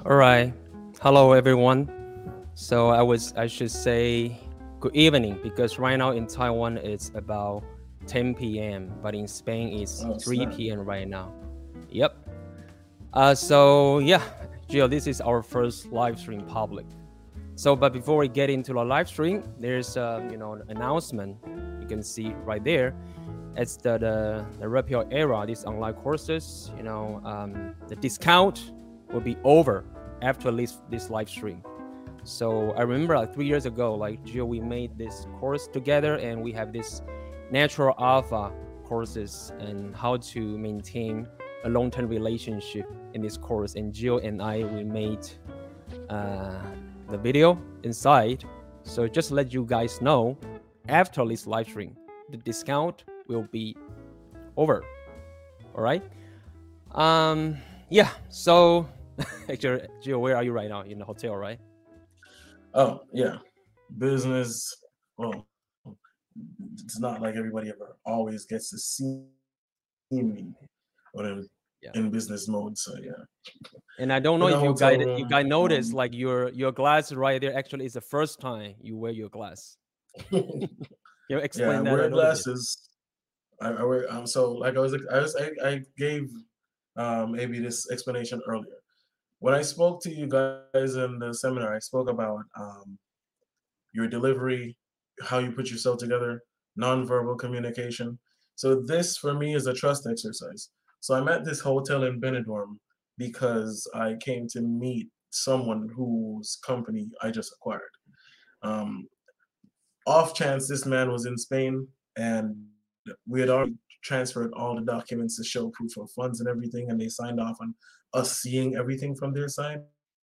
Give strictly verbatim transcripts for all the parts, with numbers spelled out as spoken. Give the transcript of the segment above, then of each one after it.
All right. Hello, everyone. So I was I should say good evening because right now in Taiwan it's about ten p m, but in Spain it's Oh, three snap. p m right now. Yep. Uh, so yeah, Gio, this is our first live stream public. So, but before we get into the live stream, there's uh, you know an announcement you can see right there. It's the the, the repeal era. These online courses, you know, um, the discount will be over after this this live stream. So I remember like three years ago, like Gio, we made this course together, and we have this natural alpha courses and how to maintain a long-term relationship in this course. And Gio and I, we made uh, the video inside. So just let you guys know, after this live stream, the discount will be over. All right. Um. Yeah. So, actually, Gio, where are you right now? In the hotel, right? Oh, yeah. Business. Well, it's not like everybody ever always gets to see me when I'm in Yeah. business mode. So yeah, And I don't in know a if you hotel guys you room. guys noticed Um, like your your glass right there actually is the first time you wear your glass. You yeah, I explain that a wear little bit. glasses. I, I wear. Um, so like I was, I was, I, I gave um maybe this explanation earlier when I spoke to you guys in the seminar. I spoke about um your delivery, how you put yourself together, nonverbal communication. So this for me is a trust exercise. So I'm at this hotel in Benidorm because I came to meet someone whose company I just acquired. Um, Off chance this man was in Spain and we had already transferred all the documents to show proof of funds and everything, and they signed off on us seeing everything from their side.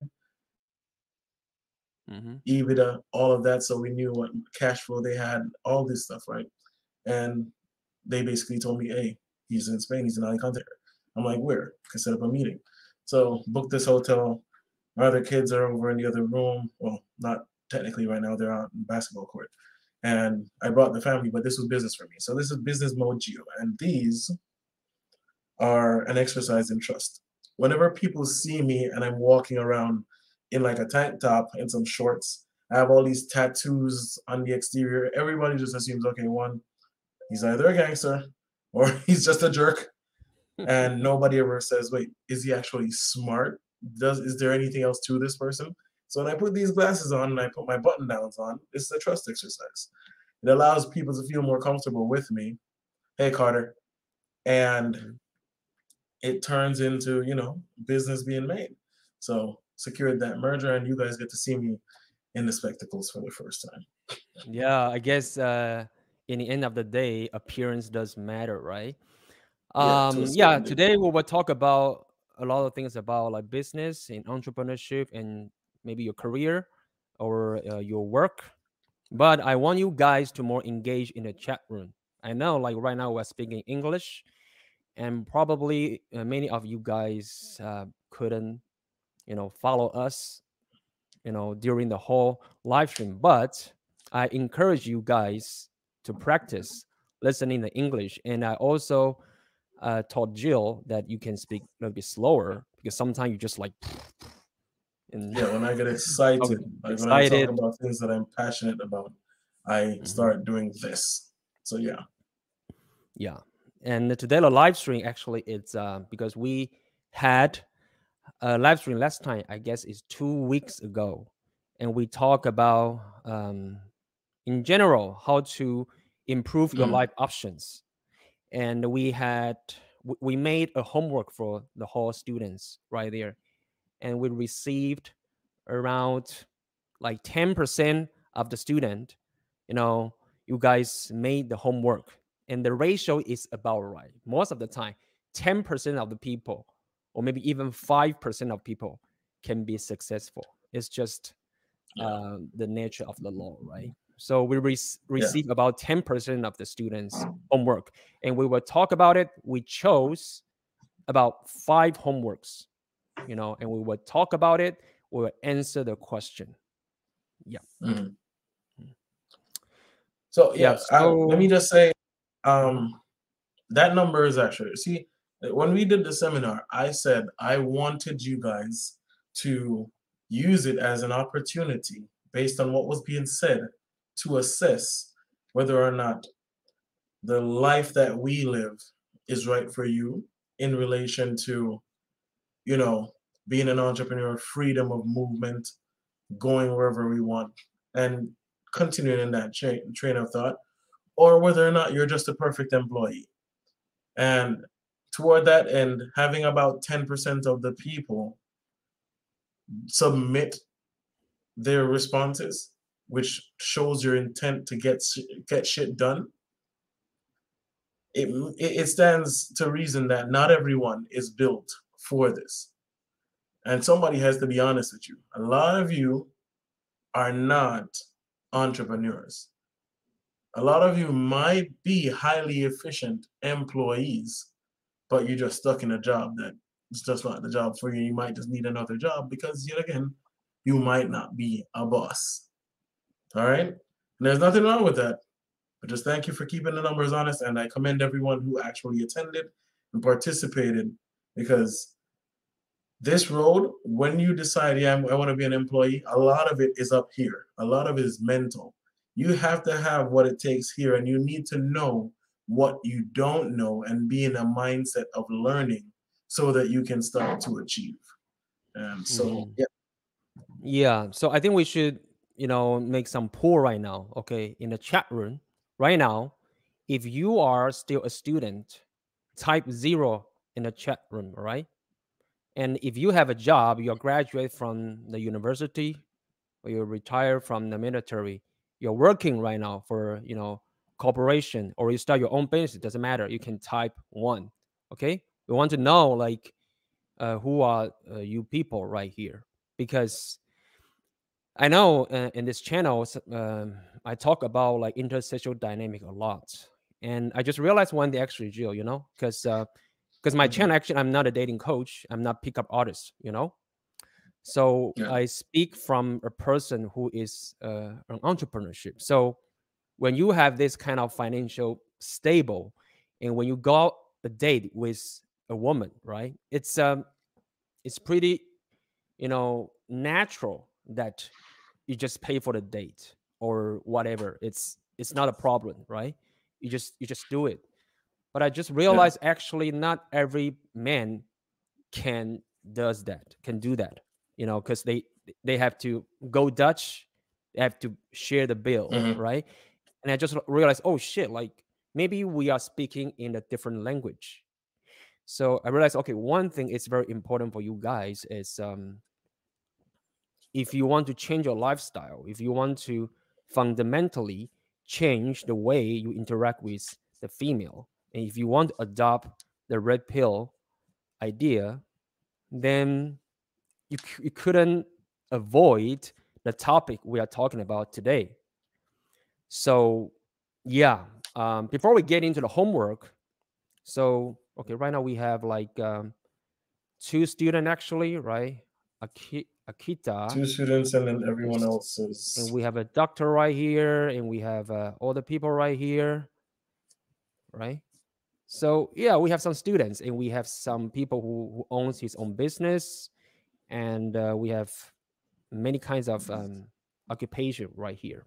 Mm-hmm. EBITDA, all of that, so we knew what cash flow they had, all this stuff, right? And they basically told me, hey, he's in Spain, he's in Alicante. I'm like, where? Can set up a meeting. So book this hotel. My other kids are over in the other room. Well, not technically right now, they're out in basketball court. And I brought the family, but this was business for me. So this is business mode Geo. And these are an exercise in trust. Whenever people see me and I'm walking around in like a tank top and some shorts, I have all these tattoos on the exterior. Everybody just assumes, okay, one, he's either a gangster or he's just a jerk. And nobody ever says, wait, is he actually smart? Does is there anything else to this person? So when I put these glasses on and I put my button downs on, it's a trust exercise. It allows people to feel more comfortable with me. Hey, Carter. And Mhm. it turns into, you know, business being made. So secured that merger, and you guys get to see me in the spectacles for the first time. Yeah, I guess uh, in the end of the day, appearance does matter, right? Yeah, to a Um, yeah, certain today degree. we will talk about a lot of things about like business and entrepreneurship and maybe your career or uh, your work. But I want you guys to more engage in the chat room. I know, like right now, we're speaking English, and probably uh, many of you guys uh, couldn't, you know, follow us, you know, during the whole live stream. But I encourage you guys to practice listening to English, and I also uh, taught Jill that you can speak a little bit slower because sometimes you just like and Yeah, when I get talk excited, like when I talk excited. about things that I'm passionate about, I Mhm. start doing this. So yeah. Yeah, and today the live stream actually it's uh, because we had a live stream last time. I guess is two weeks ago, and we talk about um, in general how to improve your Mm. life options. And we had w- we made a homework for the whole students right there, and we received around like ten percent of the student, you know, you guys made the homework, and the ratio is about right most of the time. ten percent of the people, or maybe even five percent of people, can be successful. It's just Yeah. uh, the nature of the law, right? So we re- Yeah. receive about ten percent of the students homework, and we will talk about it. We chose about five homeworks, you know, and we will talk about it. We will answer the question. Yeah. Mm. So Yeah. yeah, I, let me So, just say, mhm, um, that number is actually, see, when we did the seminar, I said I wanted you guys to use it as an opportunity based on what was being said to assess whether or not the life that we live is right for you in relation to, you know, being an entrepreneur, freedom of movement, going wherever we want, and continuing in that chain, train of thought, or whether or not you're just a perfect employee. And toward that end, having about ten percent of the people submit their responses, which shows your intent to get get shit done, it, it stands to reason that not everyone is built for this. And somebody has to be honest with you. A lot of you are not entrepreneurs. A lot of you might be highly efficient employees, but you're just stuck in a job that it's just not the job for you. You might just need another job because, yet again, you might not be a boss. All right? And there's nothing wrong with that. But just thank you for keeping the numbers honest, and I commend everyone who actually attended and participated, because this road, when you decide, yeah, I want to be an employee, a lot of it is up here. A lot of it is mental. You have to have what it takes here, and you need to know what you don't know and be in a mindset of learning so that you can start to achieve. Um, so, Mhm. yeah. Yeah. So I think we should, you know, make some poll right now. Okay, in the chat room right now, if you are still a student, type zero in the chat room. All right. And if you have a job, you're graduate from the university, or you're retired from the military, you're working right now for, you know, corporation, or you start your own business, it doesn't matter. You can type one. Okay. We want to know, like, uh, who are uh, you people right here, because I know uh, in this channel, um, I talk about like intersexual dynamic a lot, and I just realized one day, actually, Jill, you know, because because uh, my Mhm. channel, actually, I'm not a dating coach, I'm not pickup artist, you know, so Yeah. I speak from a person who is uh, an entrepreneurship. So when you have this kind of financial stable, and when you go out a date with a woman, right, it's um it's pretty, you know, natural that you just pay for the date or whatever. It's it's not a problem, right? You just you just do it. But I just Yeah. realized, actually, not every man can does that, can do that, you know, because they they have to go Dutch, they have to share the bill, Mhm. right? And I just realized, oh shit, like maybe we are speaking in a different language. So I realized, okay, one thing is very important for you guys is, um, if you want to change your lifestyle, if you want to fundamentally change the way you interact with the female, and if you want to adopt the red pill idea, then you, you couldn't avoid the topic we are talking about today. So, yeah, um, before we get into the homework, so, okay, right now we have like um, two students, actually, right? Aki- Akita, Two students and then everyone is, else is. and we have a doctor right here, and we have uh, all the people right here, right? So yeah, we have some students, and we have some people who, who owns his own business, and uh, we have many kinds of um, occupation right here.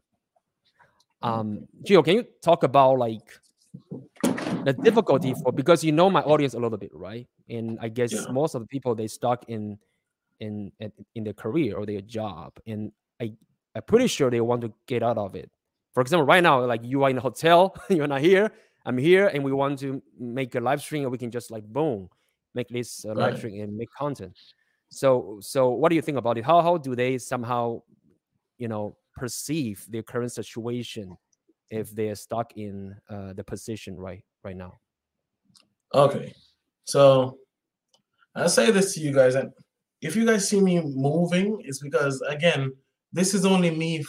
Um, Gio, can you talk about like the difficulty for, because you know my audience a little bit, right? And I guess Yeah. most of the people, they stuck in in in their career or their job, and I I'm pretty sure they want to get out of it. For example, right now, like you are in a hotel, you're not here, I'm here, and we want to make a live stream, and we can just like boom, make this uh, live Right. stream and make content. So so what do you think about it? How how do they somehow, you know, perceive their current situation if they're stuck in uh, the position right right now? Okay. So I say this to you guys, and if you guys see me moving, it's because, again, this is only me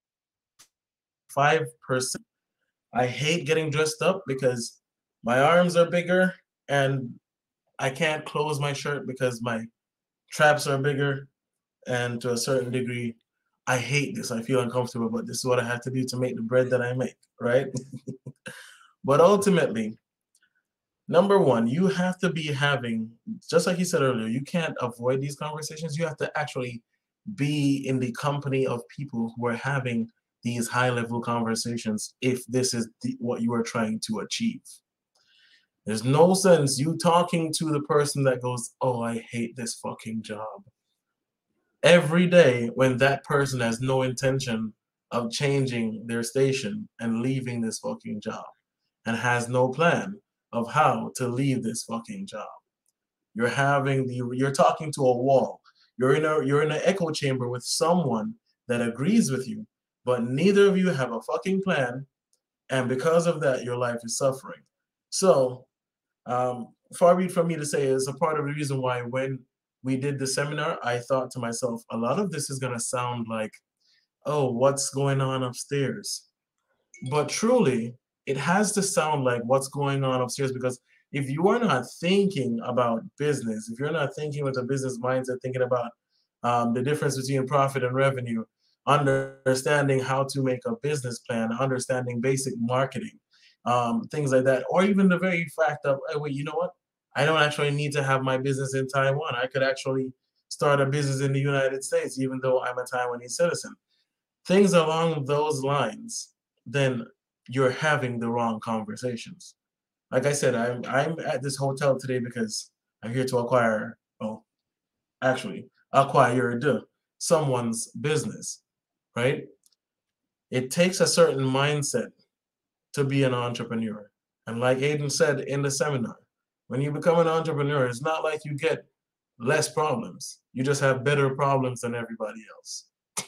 five percent. I hate getting dressed up because my arms are bigger and I can't close my shirt because my traps are bigger. And to a certain degree, I hate this. I feel uncomfortable, but this is what I have to do to make the bread that I make, right? But ultimately, number one, you have to be having, just like you said earlier, you can't avoid these conversations. You have to actually be in the company of people who are having these high level conversations if this is the, what you are trying to achieve. There's no sense you talking to the person that goes, oh, I hate this fucking job, every day when that person has no intention of changing their station and leaving this fucking job and has no plan of how to leave this fucking job. You're having the you're talking to a wall. You're in a you're in an echo chamber with someone that agrees with you, but neither of you have a fucking plan, and because of that, your life is suffering. So, um, far be it from me to say, it's a part of the reason why when we did the seminar, I thought to myself, a lot of this is gonna sound like, oh, what's going on upstairs? But truly, it has to sound like what's going on upstairs, because if you are not thinking about business, if you're not thinking with a business mindset, thinking about um, the difference between profit and revenue, understanding how to make a business plan, understanding basic marketing, um, things like that, or even the very fact of, hey, wait, you know what? I don't actually need to have my business in Taiwan. I could actually start a business in the United States, even though I'm a Taiwanese citizen. Things along those lines, then you're having the wrong conversations. Like I said, I'm I'm at this hotel today because I'm here to acquire, oh, actually, acquire someone's business, right? It takes a certain mindset to be an entrepreneur. And like Aiden said in the seminar, when you become an entrepreneur, it's not like you get less problems. You just have better problems than everybody else.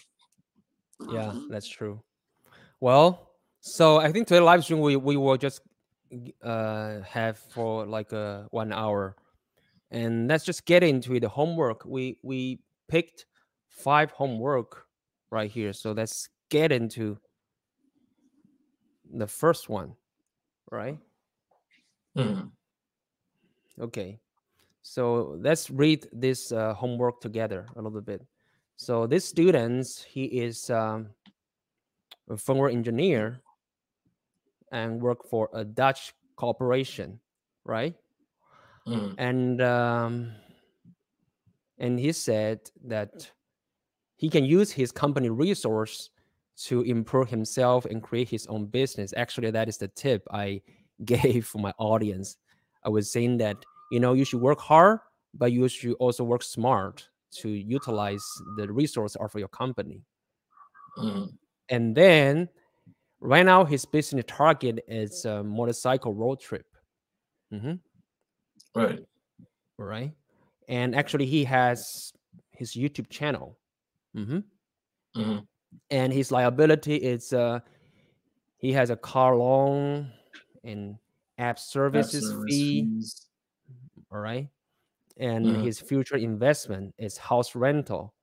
Yeah, that's true. Well, so I think today live stream we we will just uh have for like a one hour, and let's just get into the homework. We we picked five homework right here, so let's get into the first one, right? Hmm. Okay, so let's read this uh, homework together a little bit. So this student, he is um, a firmware engineer and work for a Dutch corporation, right? Hmm. And um, and he said that he can use his company resource to improve himself and create his own business. Actually, that is the tip I gave for my audience. I was saying that, you know, you should work hard, but you should also work smart to utilize the resource of your company. Hmm. And then right now his business target is a motorcycle road trip. Mm-hmm. Right. Right. And actually he has his YouTube channel. Mm-hmm. Hmm. And his liability is uh he has a car loan and app App services service fee. fees. All right. And Hmm. his future investment is house rental.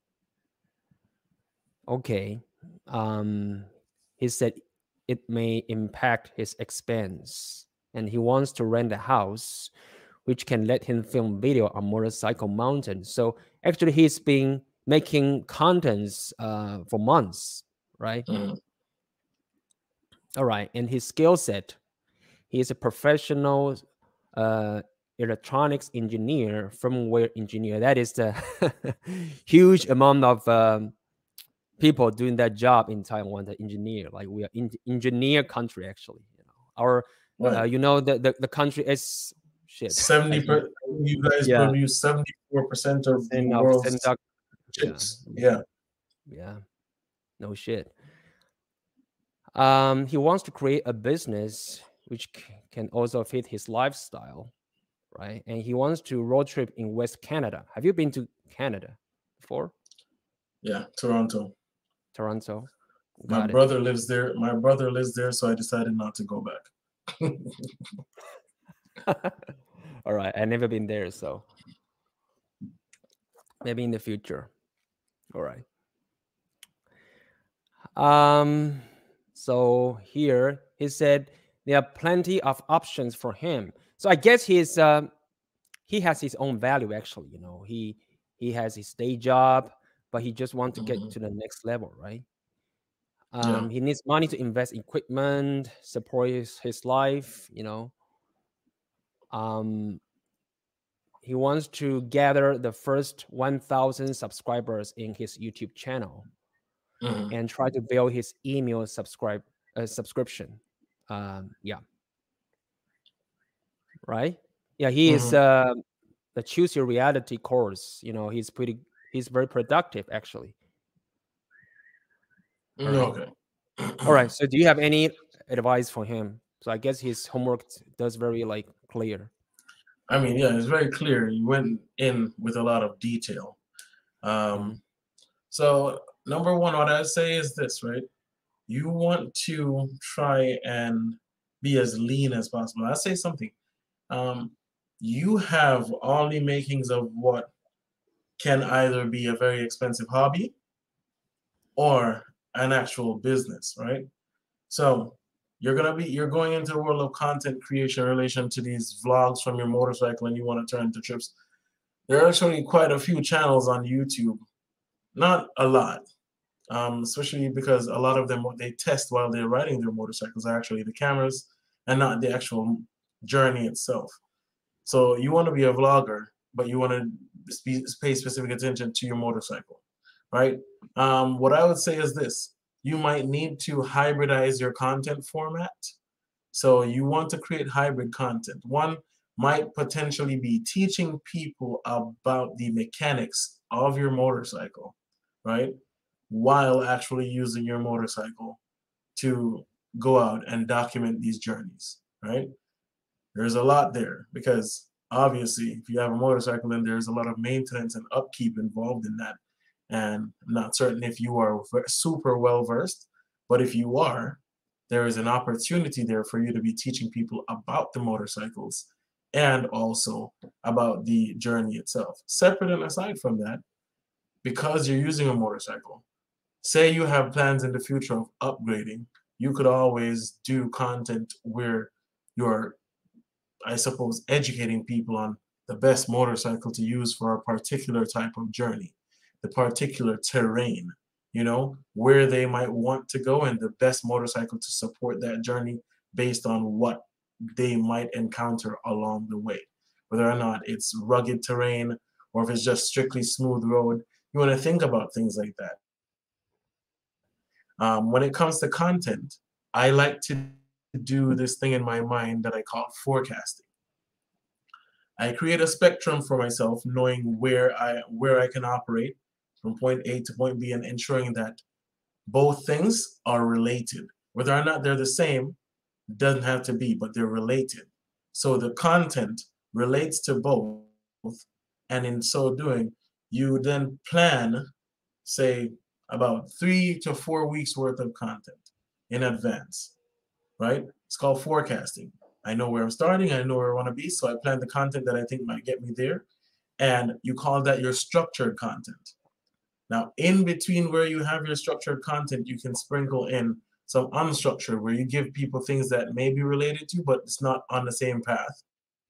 Okay. Um, he said it may impact his expense, and he wants to rent a house which can let him film video on motorcycle mountain. So actually, he's been making contents uh, for months, right? Hmm. All right, and his skill set, he is a professional uh, electronics engineer, firmware engineer. That is the huge amount of um, people doing that job in Taiwan, the engineer. Like we are in engineer country, actually. You know, our, uh, Right. you know, the, the the country is shit. seventy Like you, per, you guys yeah, produce seventy-four percent of the percent of world's semiconductor. Yeah, chips. Yeah. yeah, no shit. Um, he wants to create a business which c- can also fit his lifestyle, right? And he wants to road trip in West Canada. Have you been to Canada before? Yeah. Toronto. Toronto. My Got it. brother lives there. My brother lives there, so I decided not to go back. All right. I've never been there, so maybe in the future. All right. Um, so here he said there are plenty of options for him. So I guess he's uh, he has his own value actually. You know, he he has his day job, but he just wants to get Hmm. to the next level, right? Yeah. Um, he needs money to invest in equipment, support his, his life. You know, Um, he wants to gather the first one thousand subscribers in his YouTube channel Mm-hmm. and try to build his email subscribe uh, subscription. Um, yeah. Right. Yeah. He is Mm-hmm. uh, the Choose Your Reality course. You know, he's pretty. He's very productive, actually. All right. Okay. All right. So, do you have any advice for him? So, I guess his homework does very like clear. I mean, yeah, it's very clear. You went in with a lot of detail. Um, Mm-hmm. So, number one, what I'd say is this, right? You want to try and be as lean as possible. I'll say something. Um, you have all the makings of what can either be a very expensive hobby or an actual business, right? So you're gonna be you're going into the world of content creation in relation to these vlogs from your motorcycle and you want to turn into trips. There are actually quite a few channels on YouTube, not a lot, um, especially because a lot of them what they test while they're riding their motorcycles are actually the cameras and not the actual journey itself. So you want to be a vlogger, but you want to pay specific attention to your motorcycle, right? Um, what I would say is this: you might need to hybridize your content format. So you want to create hybrid content. One might potentially be teaching people about the mechanics of your motorcycle, right? While actually using your motorcycle to go out and document these journeys, right? There's a lot there because obviously if you have a motorcycle, then there's a lot of maintenance and upkeep involved in that. And I'm not certain if you are super well versed, but if you are, there is an opportunity there for you to be teaching people about the motorcycles and also about the journey itself. Separate and aside from that, because you're using a motorcycle, say you have plans in the future of upgrading, you could always do content where you're, I suppose, educating people on the best motorcycle to use for a particular type of journey, the particular terrain, you know, where they might want to go and the best motorcycle to support that journey based on what they might encounter along the way. Whether or not it's rugged terrain or if it's just strictly smooth road, you want to think about things like that. Um, when it comes to content, I like to do this thing in my mind that I call forecasting. I create a spectrum for myself, knowing where I where I can operate from point A to point B and ensuring that both things are related. Whether or not they're the same doesn't have to be, but they're related. So the content relates to both, and in so doing, you then plan, say, about three to four weeks worth of content in advance, right? It's called forecasting. I know where I'm starting, I know where I want to be, so I plan the content that I think might get me there, and you call that your structured content. Now, in between where you have your structured content, you can sprinkle in some unstructured, where you give people things that may be related to, but it's not on the same path.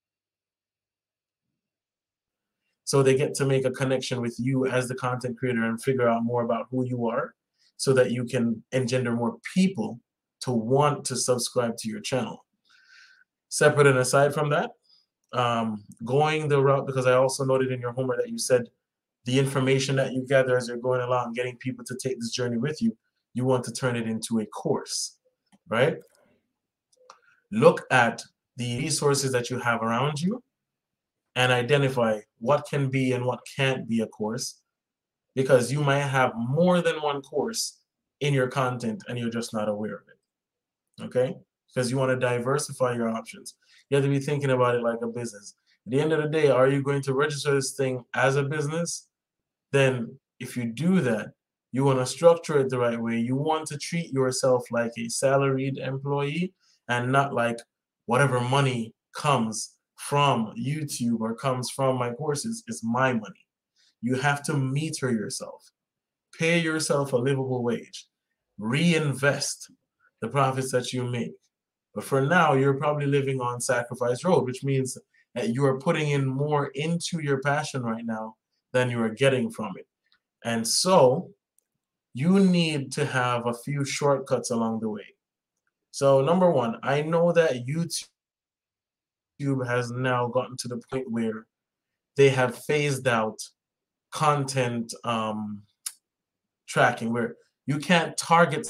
So they get to make a connection with you as the content creator and figure out more about who you are so that you can engender more people to want to subscribe to your channel. Separate and aside from that, um, going the route, because I also noted in your homework that you said the information that you gather as you're going along, getting people to take this journey with you, you want to turn it into a course, right? Look at the resources that you have around you and identify what can be and what can't be a course, because you might have more than one course in your content and you're just not aware of it, okay? Because you want to diversify your options. You have to be thinking about it like a business. At the end of the day, are you going to register this thing as a business? Then if you do that, you want to structure it the right way. You want to treat yourself like a salaried employee and not like whatever money comes from YouTube or comes from my courses is my money. You have to meter yourself. Pay yourself a livable wage. Reinvest the profits that you make. But for now, you're probably living on Sacrifice Road, which means that you are putting in more into your passion right now than you are getting from it. And so you need to have a few shortcuts along the way. So number one, I know that YouTube YouTube has now gotten to the point where they have phased out content um, tracking, where you can't target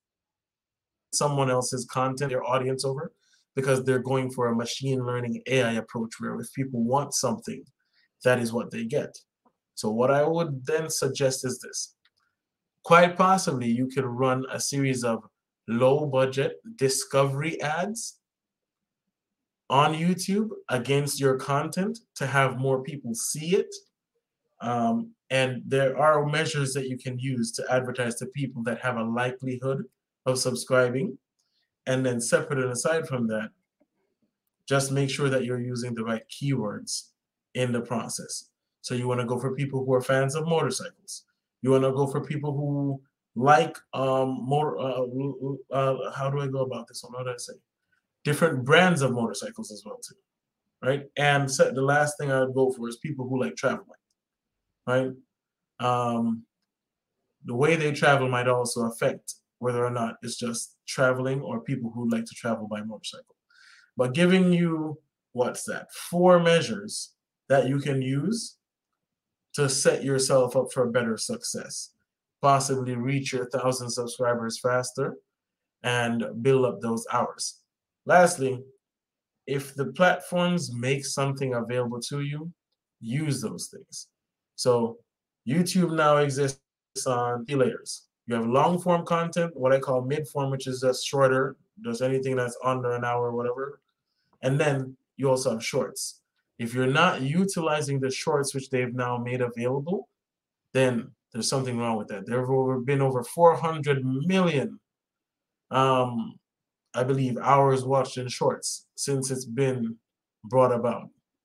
someone else's content, their audience over, because they're going for a machine learning A I approach where if people want something, that is what they get. So what I would then suggest is this. Quite possibly you could run a series of low budget discovery ads on YouTube against your content to have more people see it. Um, and there are measures that you can use to advertise to people that have a likelihood of subscribing. And then separate and aside from that, just make sure that you're using the right keywords in the process. So you want to go for people who are fans of motorcycles. You want to go for people who like um more uh, uh, how do I go about this one? How do I say? Different brands of motorcycles as well too, right? And so the last thing I would go for is people who like traveling, right? Um, the way they travel might also affect whether or not it's just traveling or people who like to travel by motorcycle. But giving you, what's that, four measures that you can use to set yourself up for better success, possibly reach your thousand subscribers faster and build up those hours. Lastly, if the platforms make something available to you, use those things. So YouTube now exists on three layers. You have long form content, what I call mid form, which is just shorter, just anything that's under an hour or whatever. And then you also have shorts. If you're not utilizing the shorts, which they've now made available, then there's something wrong with that. There have over, been over four hundred million, um, I believe, hours watched in shorts since it's been brought about.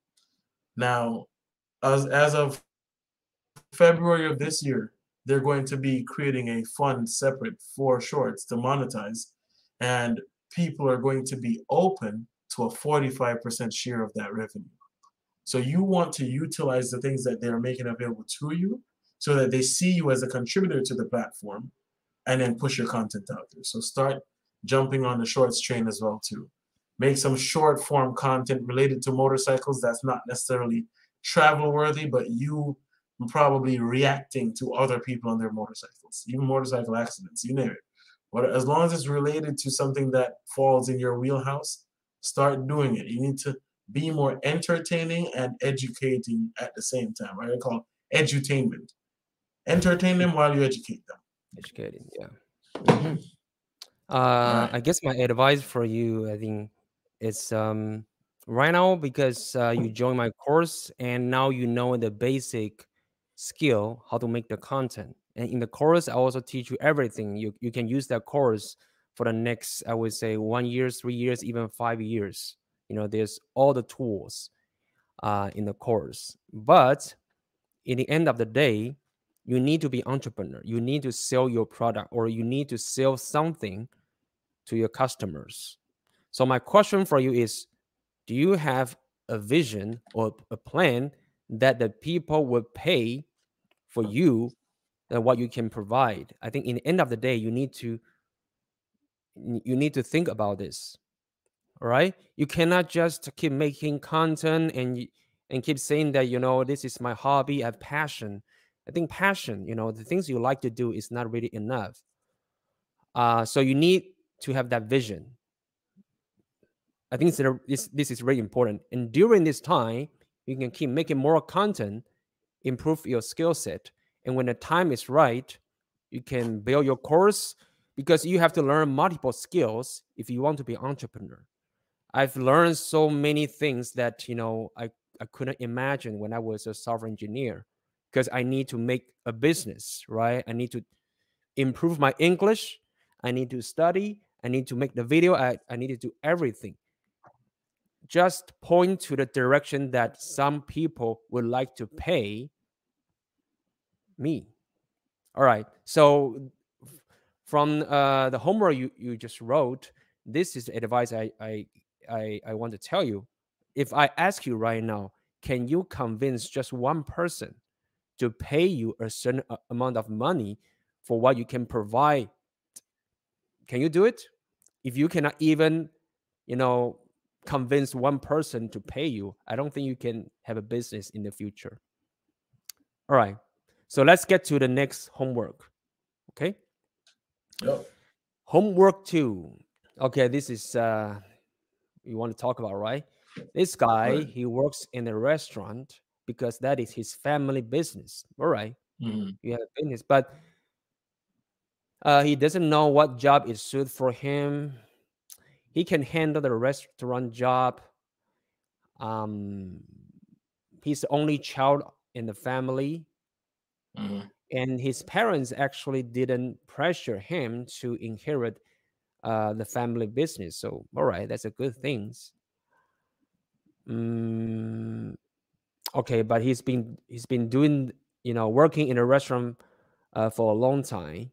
Now, as, as of February of this year, they're going to be creating a fund separate for shorts to monetize, and people are going to be open to a forty-five percent share of that revenue. So you want to utilize the things that they're making available to you so that they see you as a contributor to the platform and then push your content out there. So start jumping on the shorts train as well too. Make some short form content related to motorcycles that's not necessarily travel worthy, but you probably reacting to other people on their motorcycles, even motorcycle accidents, you name it. But as long as it's related to something that falls in your wheelhouse, start doing it. You need to be more entertaining and educating at the same time. Right? I call it edutainment. Entertain them while you educate them. Educating, yeah. Mm-hmm. Uh, right. I guess my advice for you, I think, is um, right now, because uh, you join my course and now you know the basic skill how to make the content. And in the course, I also teach you everything. You you can use that course for the next, I would say, one year, three years, even five years. You know, there's all the tools uh, in the course. But in the end of the day, you need to be entrepreneur. You need to sell your product, or you need to sell something to your customers. So my question for you is, do you have a vision or a plan that the people will pay for you and what you can provide? I think in the end of the day, you need to you need to think about this. All right, you cannot just keep making content and and keep saying that, you know, this is my hobby, I have passion. I think passion, you know, the things you like to do is not really enough. Uh, so you need to have that vision. I think this, this is very important. And during this time, you can keep making more content, improve your skill set. And when the time is right, you can build your course, because you have to learn multiple skills if you want to be an entrepreneur. I've learned so many things that, you know, I, I couldn't imagine when I was a software engineer, because I need to make a business, right? I need to improve my English. I need to study. I need to make the video. I, I need to do everything. Just point to the direction that some people would like to pay me. All right. So from uh, the homework you, you just wrote, this is advice I, I, I, I want to tell you. If I ask you right now, can you convince just one person to pay you a certain amount of money for what you can provide? Can you do it? If you cannot even, you know, convince one person to pay you, I don't think you can have a business in the future. All right. So let's get to the next homework. Okay. Yep. Homework two. Okay, this is uh you want to talk about, right? This guy, Right. he works in a restaurant because that is his family business. All right. Mm-hmm. You have a business, but uh, he doesn't know what job is suited for him. He can handle the restaurant job. Um, he's the only child in the family, Mm-hmm. and his parents actually didn't pressure him to inherit uh, the family business. So, all right, that's a good thing. Mm, okay, but he's been he's been doing you know working in a restaurant uh, for a long time.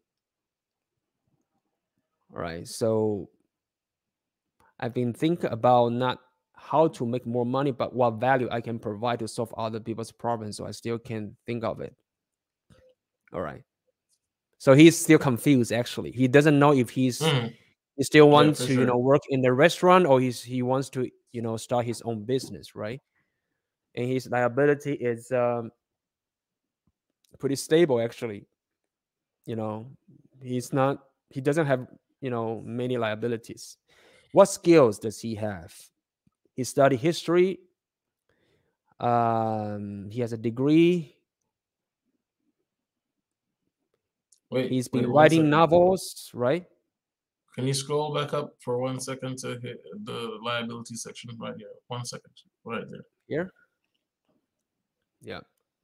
All right, so I've been thinking about not how to make more money, but what value I can provide to solve other people's problems. So I still can think of it. All right. So he's still confused. Actually, he doesn't know if he's Mm-hmm. he still Yeah, wants for to you sure. know work in the restaurant, or he's he wants to you know start his own business, right? And his liability is um, pretty stable, actually. You know, he's not he doesn't have you know many liabilities. What skills does he have? He studied history. Um, he has a degree. Wait, He's been wait one writing second. novels, right? Can you scroll back up for one second to hit the liability section right here? One second, right there. Here. Yeah.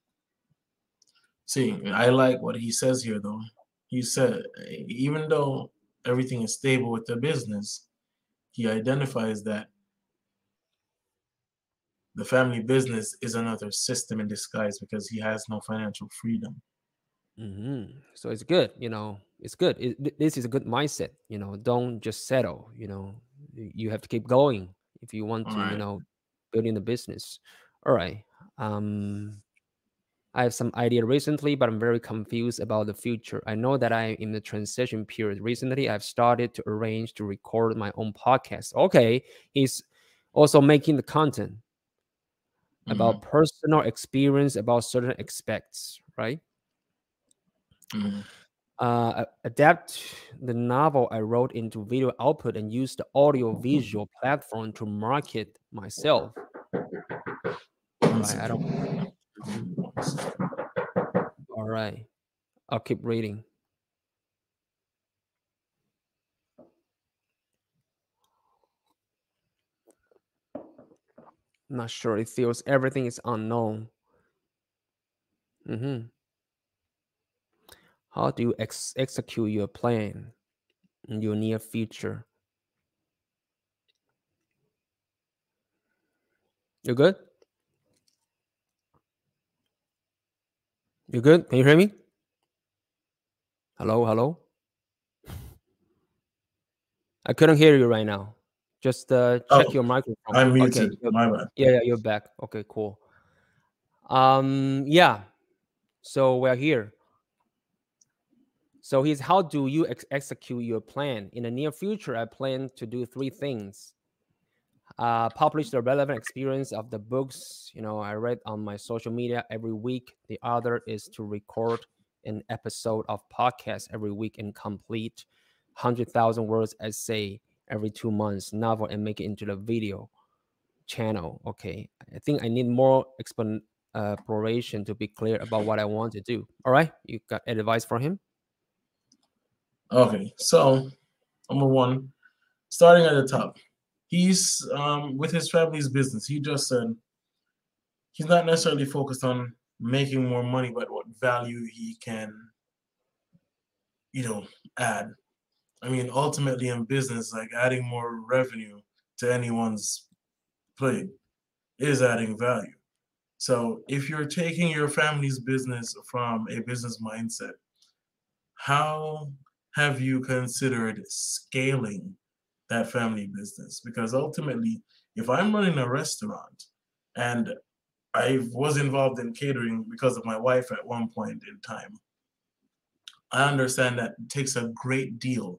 See, I like what he says here, though. He said, even though everything is stable with the business, he identifies that the family business is another system in disguise because he has no financial freedom. Mm-hmm. So it's good, you know. It's good. It, th- this is a good mindset. You know, don't just settle. You know, Y- you have to keep going if you want All to. You right. know, build in the business. All right. Um, I have some idea recently, but I'm very confused about the future. I know that I'm in the transition period. Recently, I've started to arrange to record my own podcast. Okay, he's also making the content Mm-hmm. about personal experience about certain aspects, right? Mm-hmm. Uh, a- adapt the novel I wrote into video output and use the audio visual platform to market myself. All One right, I don't. second. Mhm. One second. All right, I'll keep reading. Not sure. It feels everything is unknown. Hmm. How do you ex- execute your plan in your near future? You good? You good? Can you hear me? Hello, hello. I couldn't hear you right now. Just uh, check Oh, your microphone. I'm Okay. muted. you're- My bad. Yeah, yeah, you're back. Okay, cool. Um, yeah. So we're here. So he's how do you ex- execute your plan in the near future? I plan to do three things: uh, publish the relevant experience of the books you know I read on my social media every week. The other is to record an episode of podcast every week and complete one hundred thousand words essay every two months novel and make it into the video channel. Okay, I think I need more explan- uh, exploration to be clear about what I want to do. All right, you got advice for him? Okay, so number one, starting at the top, he's um with his family's business. He just said he's not necessarily focused on making more money, but what value he can, you know, add. I mean, ultimately in business, like adding more revenue to anyone's plate is adding value. So if you're taking your family's business from a business mindset, how have you considered scaling that family business? Because ultimately, if I'm running a restaurant and I was involved in catering because of my wife at one point in time, I understand that it takes a great deal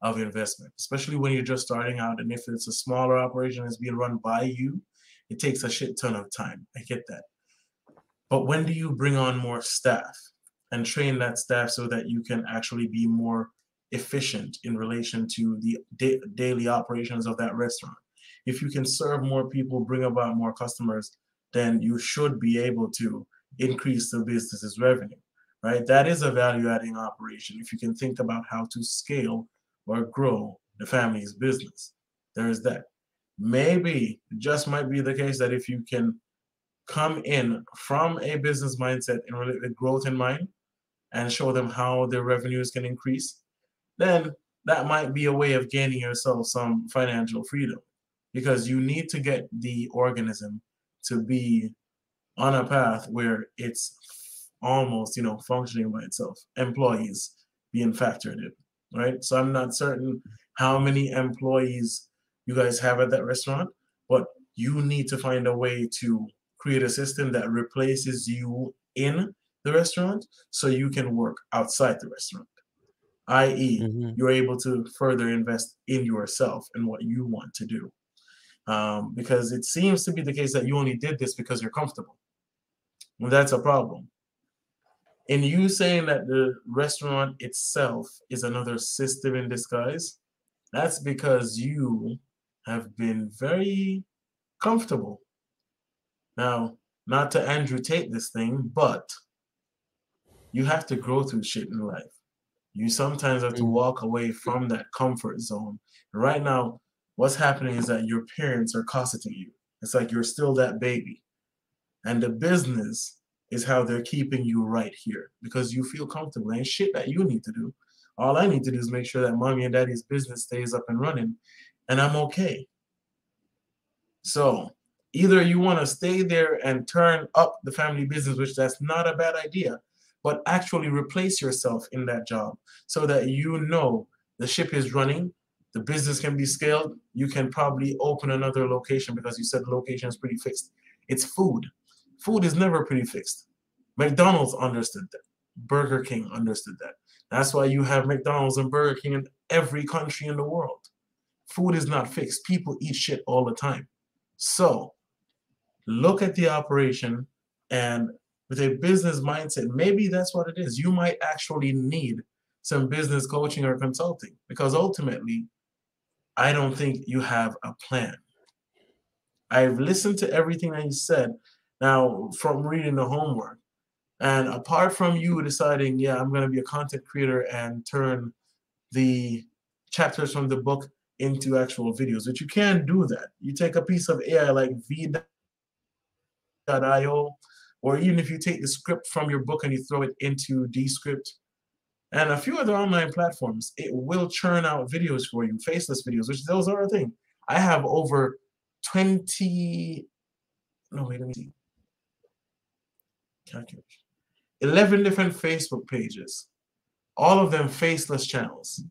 of investment, especially when you're just starting out. And if it's a smaller operation that's being run by you, it takes a shit ton of time. I get that. But when do you bring on more staff and train that staff so that you can actually be more efficient in relation to the da daily operations of that restaurant? If you can serve more people, bring about more customers, then you should be able to increase the business's revenue, right? That is a value-adding operation if you can think about how to scale or grow the family's business. There is that. Maybe it just might be the case that if you can come in from a business mindset and with growth in mind and show them how their revenues can increase, then that might be a way of gaining yourself some financial freedom, because you need to get the organism to be on a path where it's almost, you know, functioning by itself, employees being factored in, right? So I'm not certain how many employees you guys have at that restaurant, but you need to find a way to create a system that replaces you in the restaurant so you can work outside the restaurant, that is, Mm-hmm. you're able to further invest in yourself and what you want to do. Um, because it seems to be the case that you only did this because you're comfortable. Well, that's a problem. In you saying that the restaurant itself is another system in disguise, that's because you have been very comfortable. Now, not to Andrew Tate this thing, but you have to grow through shit in life. You sometimes have to Mm-hmm. walk away from that comfort zone. And right now, what's happening is that your parents are cosseting you. It's like you're still that baby. And the business is how they're keeping you right here because you feel comfortable. Ain't shit that you need to do. All I need to do is make sure that mommy and daddy's business stays up and running, and I'm okay. So either you want to stay there and turn up the family business, which that's not a bad idea, but actually replace yourself in that job so that you know the ship is running, the business can be scaled, you can probably open another location because you said the location is pretty fixed. It's food. Food is never pretty fixed. McDonald's understood that. Burger King understood that. That's why you have McDonald's and Burger King in every country in the world. Food is not fixed. People eat shit all the time. So look at the operation, and with a business mindset, maybe that's what it is. You might actually need some business coaching or consulting because ultimately, I don't think you have a plan. I've listened to everything that you said now from reading the homework. And apart from you deciding, yeah, I'm going to be a content creator and turn the chapters from the book into actual videos, but you can do that. You take a piece of A I like V dot I O, or even if you take the script from your book and you throw it into Descript and a few other online platforms, it will churn out videos for you, faceless videos, which those are a thing. I have over twenty, no, wait, let me see. Calculation. eleven different Facebook pages, all of them faceless channels.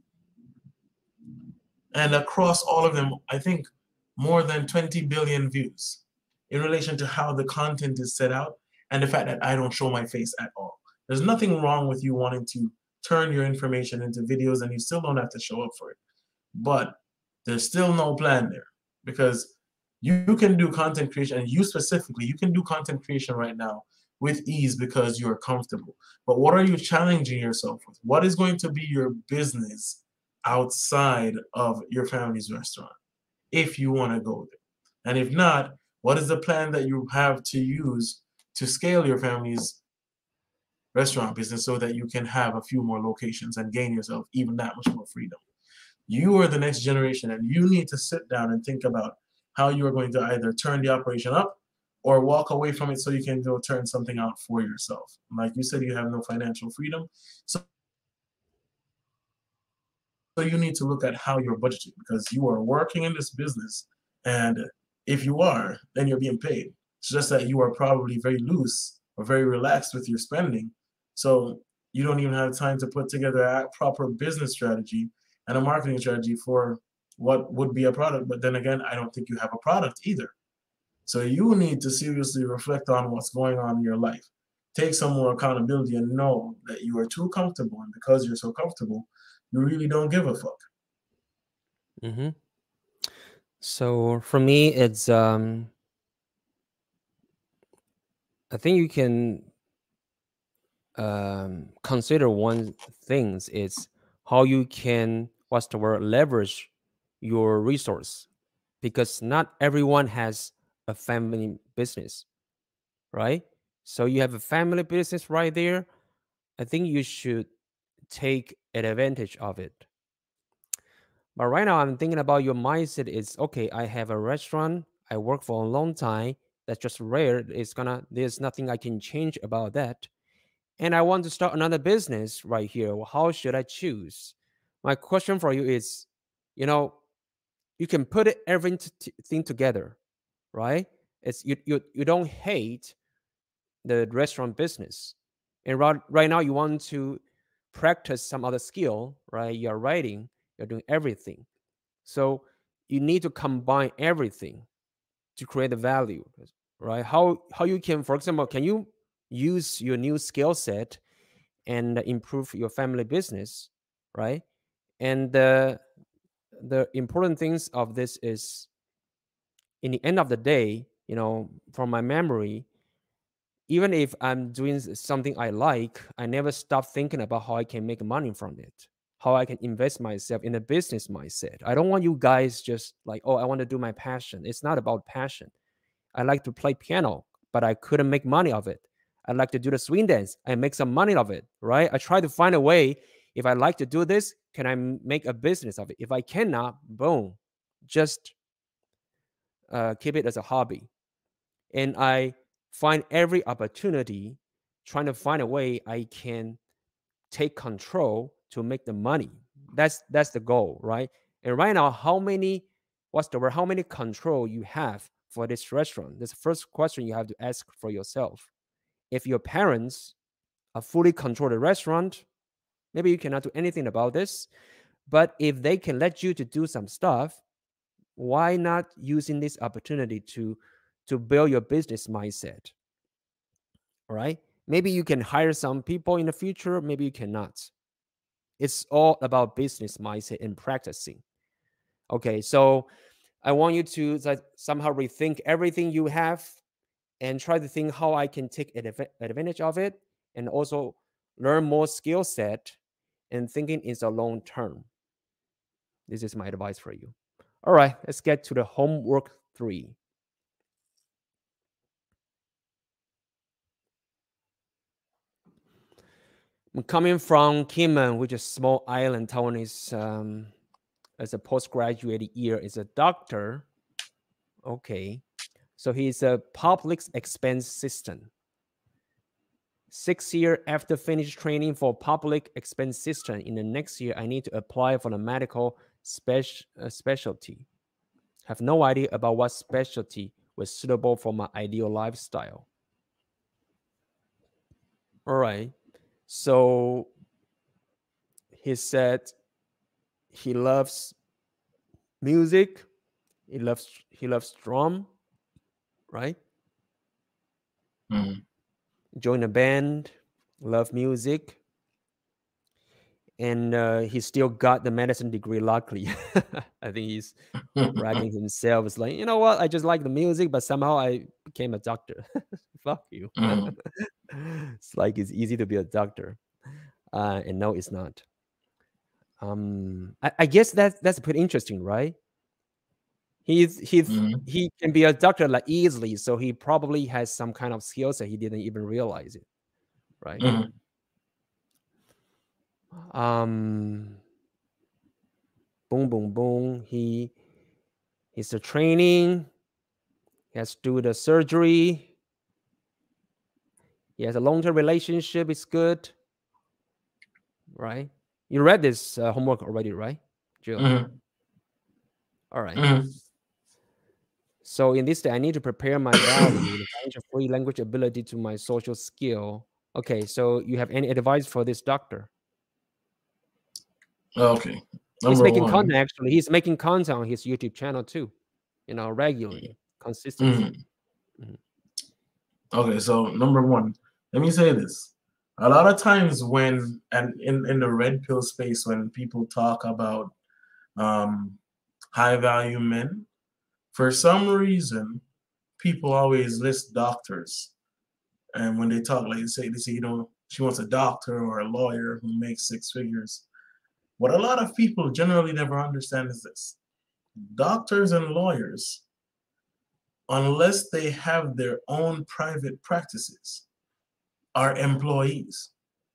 And across all of them, I think more than twenty billion views in relation to how the content is set out and the fact that I don't show my face at all. There's nothing wrong with you wanting to turn your information into videos and you still don't have to show up for it. But there's still no plan there because you, you can do content creation, and you specifically, you can do content creation right now with ease because you're comfortable. But what are you challenging yourself with? What is going to be your business outside of your family's restaurant if you want to go there? And if not, what is the plan that you have to use to scale your family's restaurant business so that you can have a few more locations and gain yourself even that much more freedom? You are the next generation, and you need to sit down and think about how you are going to either turn the operation up or walk away from it so you can go turn something out for yourself. Like you said, you have no financial freedom. So, so you need to look at how you're budgeting because you are working in this business. And if you are, then you're being paid. It's just that you are probably very loose or very relaxed with your spending. So you don't even have time to put together a proper business strategy and a marketing strategy for what would be a product. But then again, I don't think you have a product either. So you need to seriously reflect on what's going on in your life. Take some more accountability and know that you are too comfortable. And because you're so comfortable, you really don't give a fuck. Mm-hmm. So for me, it's um, I think you can um, consider one things is how you can what's the word leverage your resource, because not everyone has a family business, right? So you have a family business right there. I think you should take advantage of it. But right now, I'm thinking about your mindset is okay, I have a restaurant, I work for a long time. That's just rare. It's gonna, there's nothing I can change about that. And I want to start another business right here. Well, how should I choose? My question for you is, you know, you can put it everything together, right? It's you you you don't hate the restaurant business, and right, right now you want to practice some other skill, right? You're writing, you're doing everything. So you need to combine everything to create the value, right? How how you can, for example, can you use your new skill set and improve your family business, right? And the the important things of this is, in the end of the day, you know, from my memory, even if I'm doing something I like, I never stop thinking about how I can make money from it, how I can invest myself in a business mindset. I don't want you guys just like, oh, I want to do my passion. It's not about passion. I like to play piano, but I couldn't make money of it. I like to do the swing dance and make some money of it, right? I try to find a way. If I like to do this, can I make a business of it? If I cannot, boom, just uh, keep it as a hobby. And I find every opportunity trying to find a way I can take control to make the money. That's that's the goal, right? And right now, how many, what's the word? How many control you have for this restaurant? That's the first question you have to ask for yourself. If your parents are fully control the restaurant, maybe you cannot do anything about this. But if they can let you to do some stuff, why not using this opportunity to to build your business mindset? All right. Maybe you can hire some people in the future, maybe you cannot. It's all about business mindset and practicing. Okay, so I want you to like, somehow rethink everything you have and try to think how I can take advantage of it, and also learn more skill set, and thinking is a long term. This is my advice for you. All right, let's get to the homework three. I'm coming from Kinmen, which is a small island. Taiwan is um, as a postgraduate year is a doctor. Okay, so he's a public expense system. Six year after finish training for public expense system, in the next year I need to apply for the medical spec- uh, specialty. Have no idea about what specialty was suitable for my ideal lifestyle. All right. So he said he loves music. He loves he loves drum, right? Mm-hmm. Join a band, love music, and uh, he still got the medicine degree. Luckily, I think he's bragging himself. It's like, you know what? I just like the music, but somehow I became a doctor. Fuck you. Mm-hmm. It's like it's easy to be a doctor, uh, and no, it's not. Um, I, I guess that's that's pretty interesting, right? He's he's Mm-hmm. he can be a doctor like easily, so he probably has some kind of skills that he didn't even realize it, right? Mm-hmm. Um, boom, boom, boom. He he's the training. He has to do the surgery. He has a long-term relationship. It's good, right? You read this uh, homework already, right, Jill? Mm-hmm. All right. Mm-hmm. So in this day, I need to prepare my value, the financial free language ability to my social skill. Okay, so you have any advice for this doctor? Okay. He's Number making one. content actually. He's making content on his YouTube channel too, you know, regularly, consistency. Mm-hmm. Mhm. Okay, so number one, let me say this. A lot of times when and in, in the red pill space, when people talk about um high value men. For some reason, people always list doctors. And when they talk, like they say, they say, you know, she wants a doctor or a lawyer who makes six figures. What a lot of people generally never understand is this. Doctors and lawyers, unless they have their own private practices, are employees.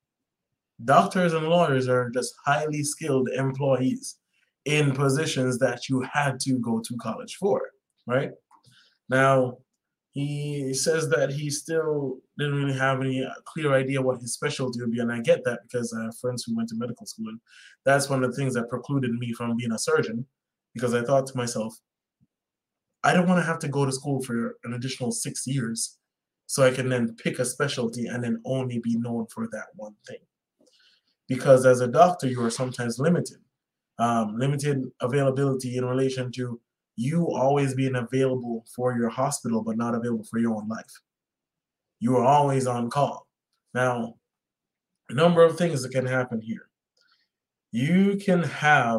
Doctors and lawyers are just highly skilled employees in positions that you had to go to college for, right? Now, he says that he still didn't really have any clear idea what his specialty would be, and I get that because I have friends who went to medical school, and that's one of the things that precluded me from being a surgeon, because I thought to myself, I don't want to have to go to school for an additional six years so I can then pick a specialty and then only be known for that one thing. Because as a doctor, you are sometimes limited, um, limited availability in relation to you always being available for your hospital, but not available for your own life. You are always on call. Now, a number of things that can happen here. You can have,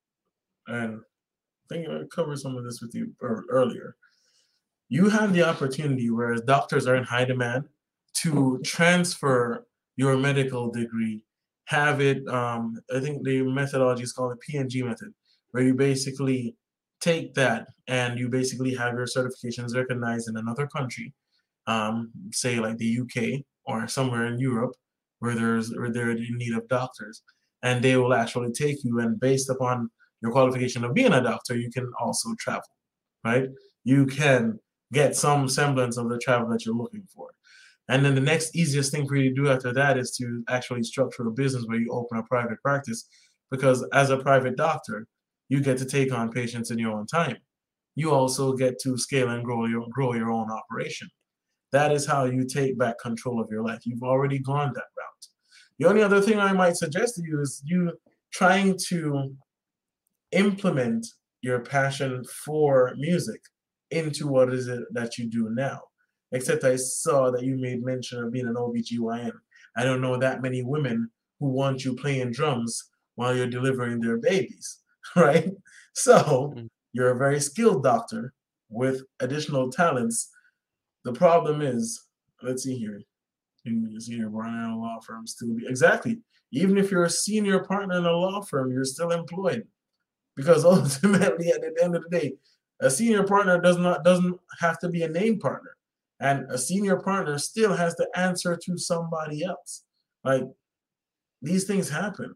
and I think I covered some of this with you earlier, you have the opportunity, whereas doctors are in high demand, to transfer your medical degree, have it, um, I think the methodology is called the P N G method, where you basically take that and you basically have your certifications recognized in another country, um, say like the U K or somewhere in Europe, where there's where they're in need of doctors, and they will actually take you, and based upon your qualification of being a doctor, you can also travel, right? You can get some semblance of the travel that you're looking for. And then the next easiest thing for you to do after that is to actually structure a business where you open a private practice, because as a private doctor, you get to take on patients in your own time. You also get to scale and grow your, grow your own operation. That is how you take back control of your life. You've already gone that route. The only other thing I might suggest to you is you trying to implement your passion for music into what is it that you do now. Except I saw that you made mention of being an O B G Y N. I don't know that many women who want you playing drums while you're delivering their babies, right? So you're a very skilled doctor with additional talents. The problem is, let's see here. You see here, running a law firm still be exactly. Even if you're a senior partner in a law firm, you're still employed, because ultimately, at the end of the day, a senior partner does not doesn't have to be a named partner, and a senior partner still has to answer to somebody else. Like, these things happen.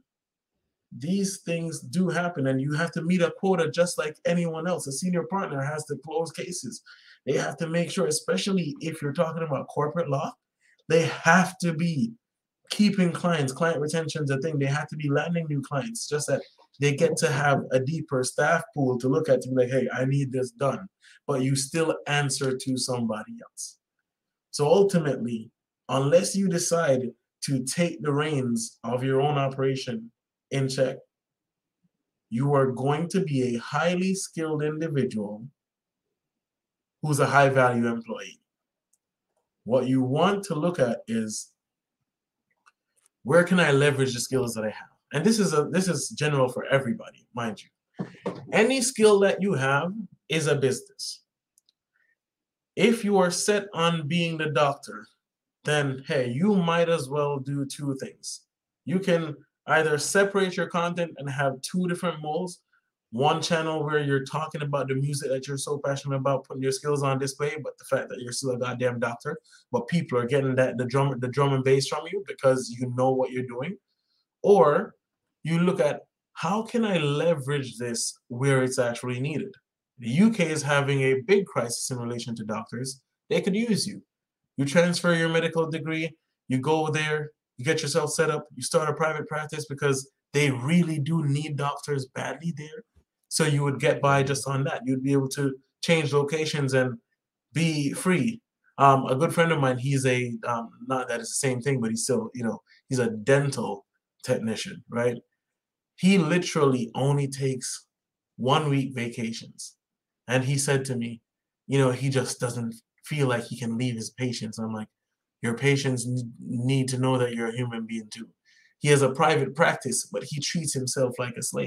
These things do happen, and you have to meet a quota just like anyone else. A senior partner has to close cases. They have to make sure, especially if you're talking about corporate law, they have to be keeping clients. Client retention is a thing. They have to be landing new clients, just that they get to have a deeper staff pool to look at to be like, hey, I need this done. But you still answer to somebody else. So ultimately, unless you decide to take the reins of your own operation in check, you are going to be a highly skilled individual who's a high value employee. What you want to look at is, where can I leverage the skills that I have? And this is a this is general for everybody, mind you. Any skill that you have is a business. If you are set on being the doctor, then hey, you might as well do two things. You can either separate your content and have two different modes. One channel where you're talking about the music that you're so passionate about, putting your skills on display, but the fact that you're still a goddamn doctor, but people are getting that the drum the drum and bass from you because you know what you're doing. Or you look at, how can I leverage this where it's actually needed? The U K is having a big crisis in relation to doctors. They could use you. You transfer your medical degree, you go there, you get yourself set up, you start a private practice, because they really do need doctors badly there. So you would get by just on that. You'd be able to change locations and be free. Um, a good friend of mine, he's a, um, not that it's the same thing, but he's still, you know, he's a dental technician, right? He literally only takes one week vacations. And he said to me, you know, he just doesn't feel like he can leave his patients. I'm like, your patients need to know that you're a human being too. He has a private practice, but he treats himself like a slave.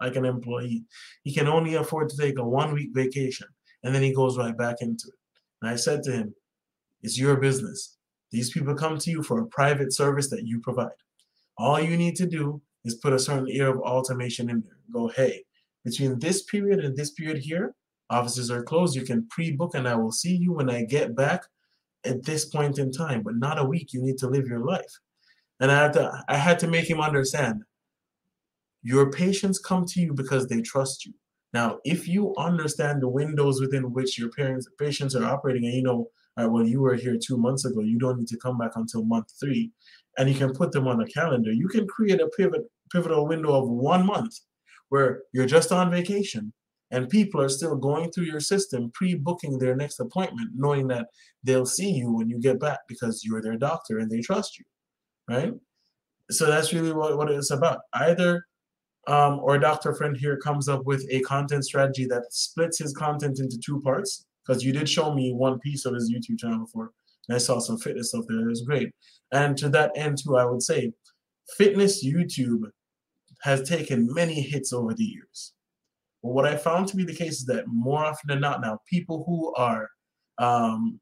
like an employee. He can only afford to take a one-week vacation, and then he goes right back into it. And I said to him, it's your business. These people come to you for a private service that you provide. All you need to do is put a certain air of automation in there. Go, hey, between this period and this period here, offices are closed. You can pre-book, and I will see you when I get back at this point in time, but not a week. You need to live your life. And I had to, I had to make him understand, your patients come to you because they trust you. Now, if you understand the windows within which your parents, patients are operating, and you know, all right, well, you were here two months ago, you don't need to come back until month three, and you can put them on a calendar, you can create a pivot, pivotal window of one month where you're just on vacation, and people are still going through your system, pre-booking their next appointment, knowing that they'll see you when you get back because you're their doctor and they trust you, right? So that's really what, what it's about. Either um, our doctor friend here comes up with a content strategy that splits his content into two parts, because you did show me one piece of his YouTube channel before, and I saw some fitness stuff there. It was great. And to that end, too, I would say fitness YouTube has taken many hits over the years. But what I found to be the case is that more often than not now, people who are, um,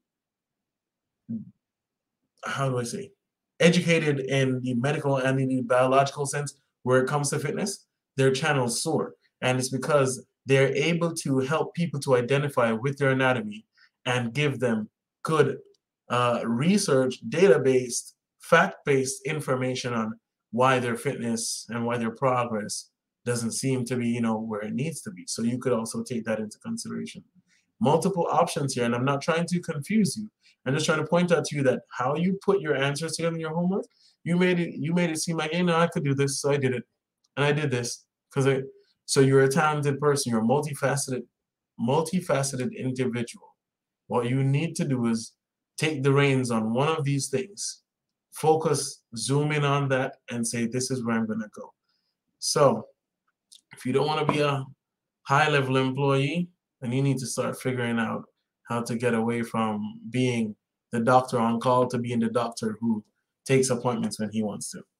how do I say, educated in the medical and in the biological sense where it comes to fitness, their channels soar. And it's because they're able to help people to identify with their anatomy and give them good uh, research, data-based, fact-based information on why their fitness and why their progress doesn't seem to be, you know, where it needs to be. So you could also take that into consideration. Multiple options here, and I'm not trying to confuse you. I'm just trying to point out to you that how you put your answers together in your homework, you made it you made it seem like, hey, no, I could do this, so I did it. And I did this. Because I so you're a talented person, you're a multifaceted, multifaceted individual. What you need to do is take the reins on one of these things, focus, zoom in on that, and say, this is where I'm gonna go. So if you don't want to be a high-level employee, then you need to start figuring out how to get away from being the doctor on call to being the doctor who takes appointments when he wants to.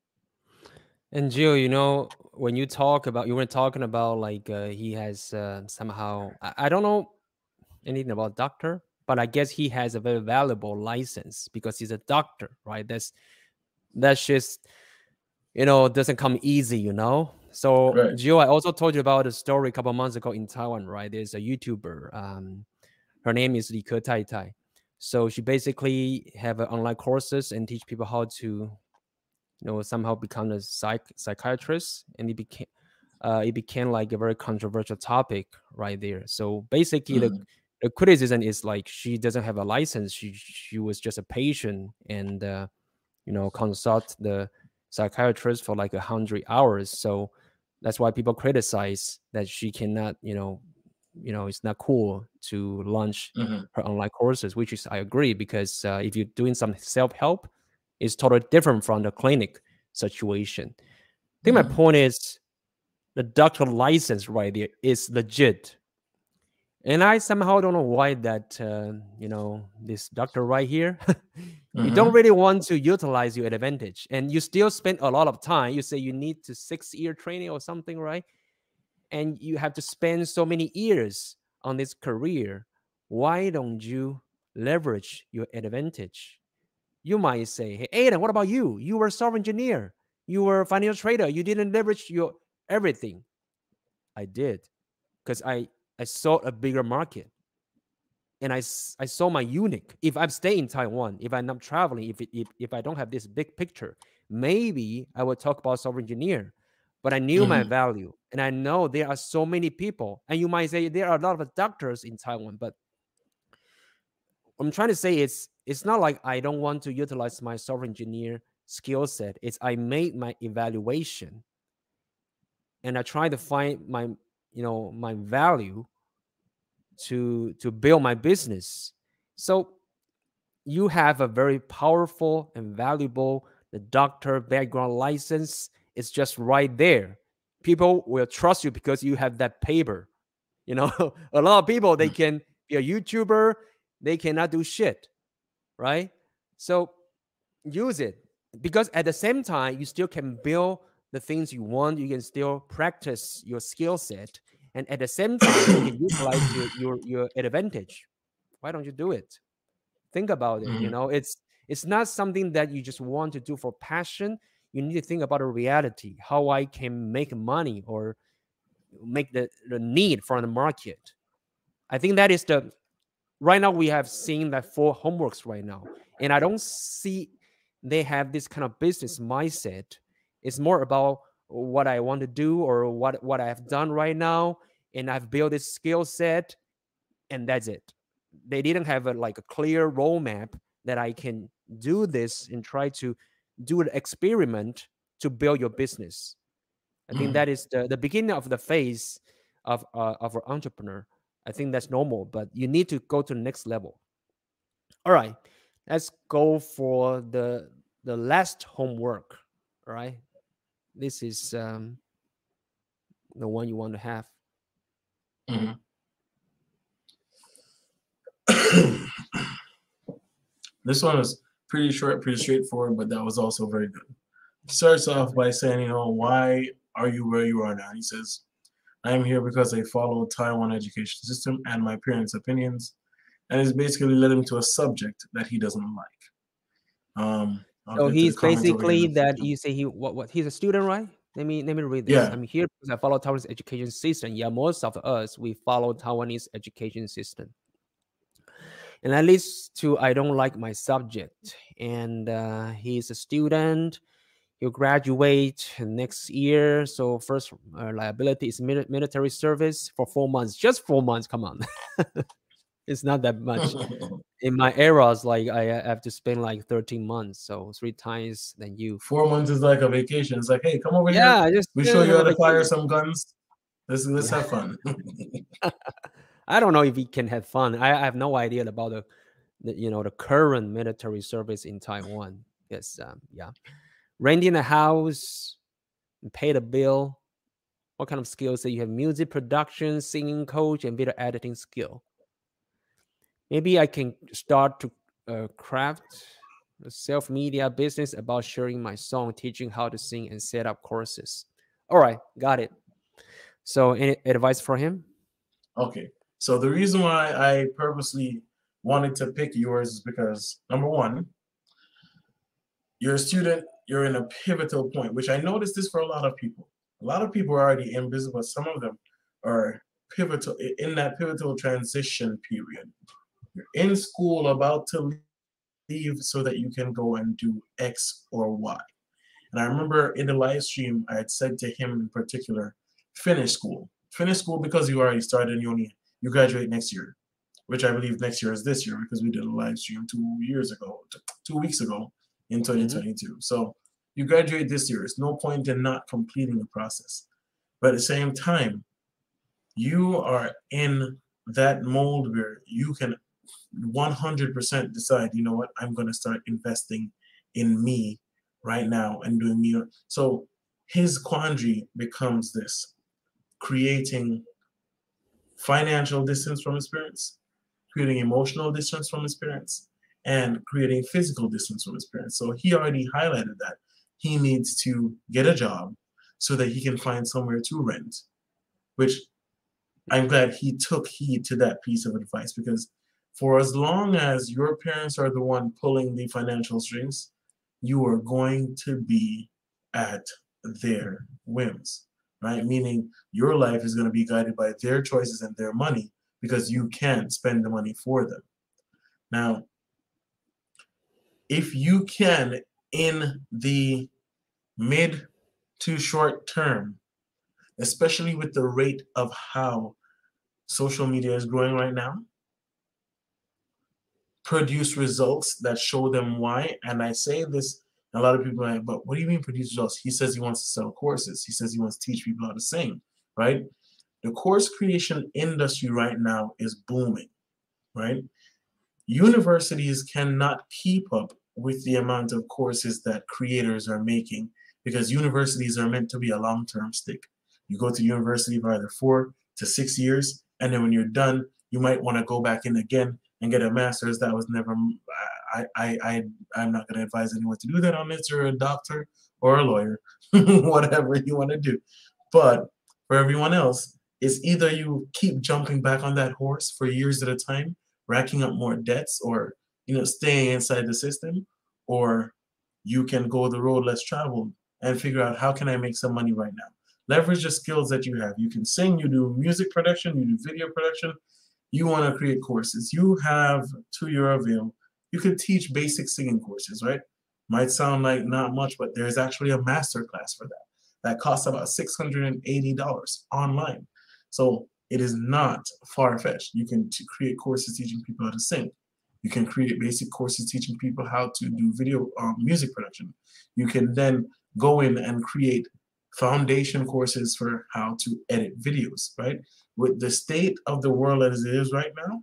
And Jill, you know, when you talk about, you were talking about like uh, he has uh, somehow, I, I don't know anything about doctor, but I guess he has a very valuable license because he's a doctor, right? That's that's just, you know, doesn't come easy, you know. So, Right. Jill, I also told you about a story a couple of months ago in Taiwan, right? There's a YouTuber. Um, her name is Li Ke Tai Tai. So she basically have uh, online courses and teach people how to, you know, somehow become a psych psychiatrist, and it became uh, it became like a very controversial topic right there. So basically, Mm-hmm. the the criticism is like she doesn't have a license. She she was just a patient, and uh, you know, consult the psychiatrist for like a hundred hours. So that's why people criticize that she cannot, you know, you know, it's not cool to launch Mm-hmm. her online courses, which is I agree, because uh, if you're doing some self-help, it's totally different from the clinic situation. I think my Mm-hmm. point is the doctor license right there is legit. And I somehow don't know why that, uh, you know, this doctor right here, you don't Mm-hmm. really want to utilize your advantage. And you still spend a lot of time. You say you need to six-year training or something, right? And you have to spend so many years on this career. Why don't you leverage your advantage? You might say, hey, Aiden, what about you? You were a software engineer. You were a financial trader. You didn't leverage your everything. I did, because I, I saw a bigger market. And I, I saw my unique. If I'm staying in Taiwan, if I'm not traveling, if, it, if, if I don't have this big picture, maybe I would talk about software engineer. But I knew my Mm-hmm. value. And I know there are so many people. And you might say there are a lot of doctors in Taiwan. But I'm trying to say it's, it's not like I don't want to utilize my software engineer skill set. It's I made my evaluation. And I try to find my, you know, my value to to build my business. So you have a very powerful and valuable the doctor background license. It's just right there. People will trust you because you have that paper. You know, a lot of people, they can be a YouTuber, they cannot do shit, right? So use it, because at the same time you still can build the things you want, you can still practice your skill set, and at the same time you can utilize your, your your advantage. Why don't you do it? Think about it. You Mhm. know, it's it's not something that you just want to do for passion. You need to think about a reality, how I can make money or make the, the need from the market. I think that is the right now we have seen that four homeworks right now, and I don't see they have this kind of business mindset. It's more about what I want to do or what what I've done right now, and I've built this skill set, and that's it. They didn't have a like a clear roadmap that I can do this and try to do an experiment to build your business. I think Mhm. that is the, the beginning of the phase of uh, of an entrepreneur. I think that's normal, but you need to go to the next level. All right, let's go for the the last homework. All right, this is um, the one you want to have. Mhm. This one was pretty short, pretty straightforward, but that was also very good. He starts off by saying, you know, why are you where you are now? He says, I am here because I follow Taiwan education system and my parents' opinions, and it's basically led him to a subject that he doesn't like. Um, I'll So get to the he's comments over here in basically a that second. you say he what what he's a student, right? Let me let me read this. Yeah. I'm here because I follow Taiwanese education system. Yeah, most of us we follow Taiwanese education system. And that leads to I don't like my subject. And uh, he's a student. He'll graduate next year. So first uh, liability is mili- military service for four months. Just four months. Come on, it's not that much. In my eras, like I uh, have to spend like thirteen months, so three times than you. Four months is like a vacation. It's like, hey, come over here. Yeah, just We uh, show you have how a to fire vacation. some guns. Let's let's Yeah. have fun. I don't know if he can have fun. I, I have no idea about the, the you know the current military service in Taiwan. Yes, um, yeah, renting a house, pay the bill. What kind of skills that you have? Music production, singing coach, and video editing skill. Maybe I can start to uh, craft a self media business about sharing my song, teaching how to sing, and set up courses. All right, got it. So, any advice for him? Okay. So the reason why I purposely wanted to pick yours is because number one, you're a student, you're in a pivotal point, which I noticed this for a lot of people. A lot of people are already in business, but some of them are pivotal in that pivotal transition period. You're in school about to leave so that you can go and do X or Y. And I remember in the live stream, I had said to him in particular, finish school. Finish school because you already started and you only you graduate next year, which I believe next year is this year because we did a live stream two years ago, two weeks ago in Mm-hmm. twenty twenty-two. So you graduate this year. There's no point in not completing the process. But at the same time, you are in that mold where you can one hundred percent decide, you know what, I'm going to start investing in me right now and doing me. So his quandary becomes this: creating financial distance from his parents, creating emotional distance from his parents, and creating physical distance from his parents. So he already highlighted that he needs to get a job so that he can find somewhere to rent, which I'm glad he took heed to that piece of advice, because for as long as your parents are the one pulling the financial strings, you are going to be at their whims, right? Meaning your life is going to be guided by their choices and their money because you can't spend the money for them. Now, if you can, in the mid to short term, especially with the rate of how social media is growing right now, produce results that show them why. And I say this, a lot of people are like, but what do you mean produce results? He says he wants to sell courses. He says he wants to teach people how to sing, right? The course creation industry right now is booming, right? Universities cannot keep up with the amount of courses that creators are making because universities are meant to be a long-term stick. You go to university for either four to six years, and then when you're done, you might want to go back in again and get a master's. That was never, I, I, I, I'm not going to advise anyone to do that unless you're a doctor or a lawyer, whatever you want to do. But for everyone else, it's either you keep jumping back on that horse for years at a time, racking up more debts, or you know, staying inside the system, or you can go the road less traveled and figure out how can I make some money right now. Leverage the skills that you have. You can sing, you do music production, you do video production, you want to create courses. You have to your avail. You can teach basic singing courses, right? Might sound like not much, but there's actually a master class for that. That costs about six hundred eighty dollars online. So it is not far-fetched. You can t- create courses teaching people how to sing. You can create basic courses teaching people how to do video um, music production. You can then go in and create foundation courses for how to edit videos, right? With the state of the world as it is right now,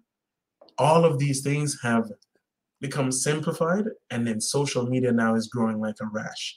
all of these things have become simplified, and then social media now is growing like a rash.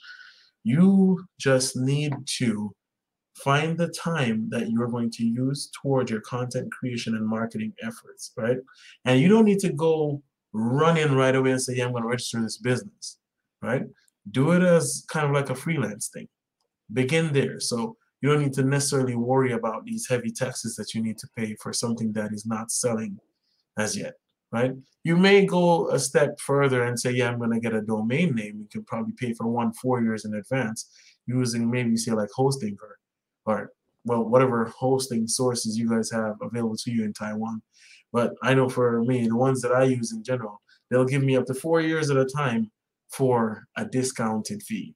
You just need to find the time that you're going to use toward your content creation and marketing efforts, right? And you don't need to go run in right away and say, yeah, I'm going to register this business, right? Do it as kind of like a freelance thing. Begin there. So you don't need to necessarily worry about these heavy taxes that you need to pay for something that is not selling as yet, right? You may go a step further and say, yeah, I'm going to get a domain name. You can probably pay for one four years in advance using maybe say like hosting or, or well, whatever hosting sources you guys have available to you in Taiwan. But I know for me, the ones that I use in general, they'll give me up to four years at a time for a discounted fee.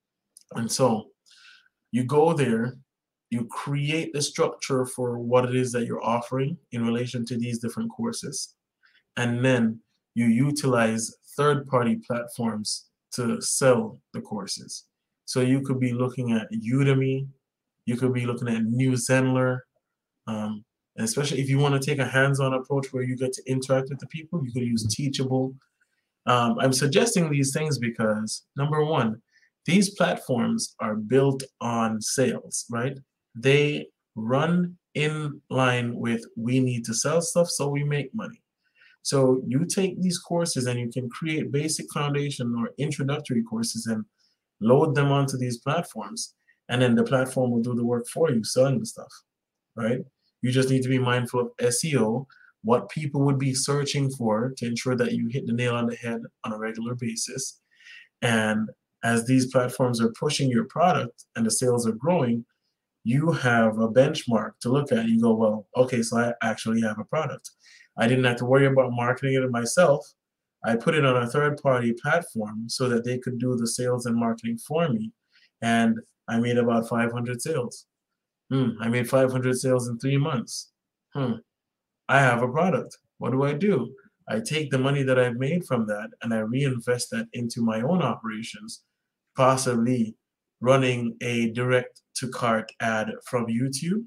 And so you go there, you create the structure for what it is that you're offering in relation to these different courses, and then you utilize third-party platforms to sell the courses. So you could be looking at Udemy, you could be looking at New Zenler, um, and especially if you want to take a hands-on approach where you get to interact with the people, you could use Teachable. Um, I'm suggesting these things because, number one, these platforms are built on sales, right? They run in line with we need to sell stuff so we make money. So you take these courses and you can create basic foundation or introductory courses and load them onto these platforms. And then the platform will do the work for you, selling the stuff, right? You just need to be mindful of S E O, what people would be searching for to ensure that you hit the nail on the head on a regular basis. And as these platforms are pushing your product and the sales are growing, you have a benchmark to look at. You go, well, okay, so I actually have a product. I didn't have to worry about marketing it myself. I put it on a third-party platform so that they could do the sales and marketing for me. And I made about five hundred sales. Hmm, I made five hundred sales in three months. Hmm, I have a product. What do I do? I take the money that I've made from that and I reinvest that into my own operations, possibly running a direct to cart ad from YouTube.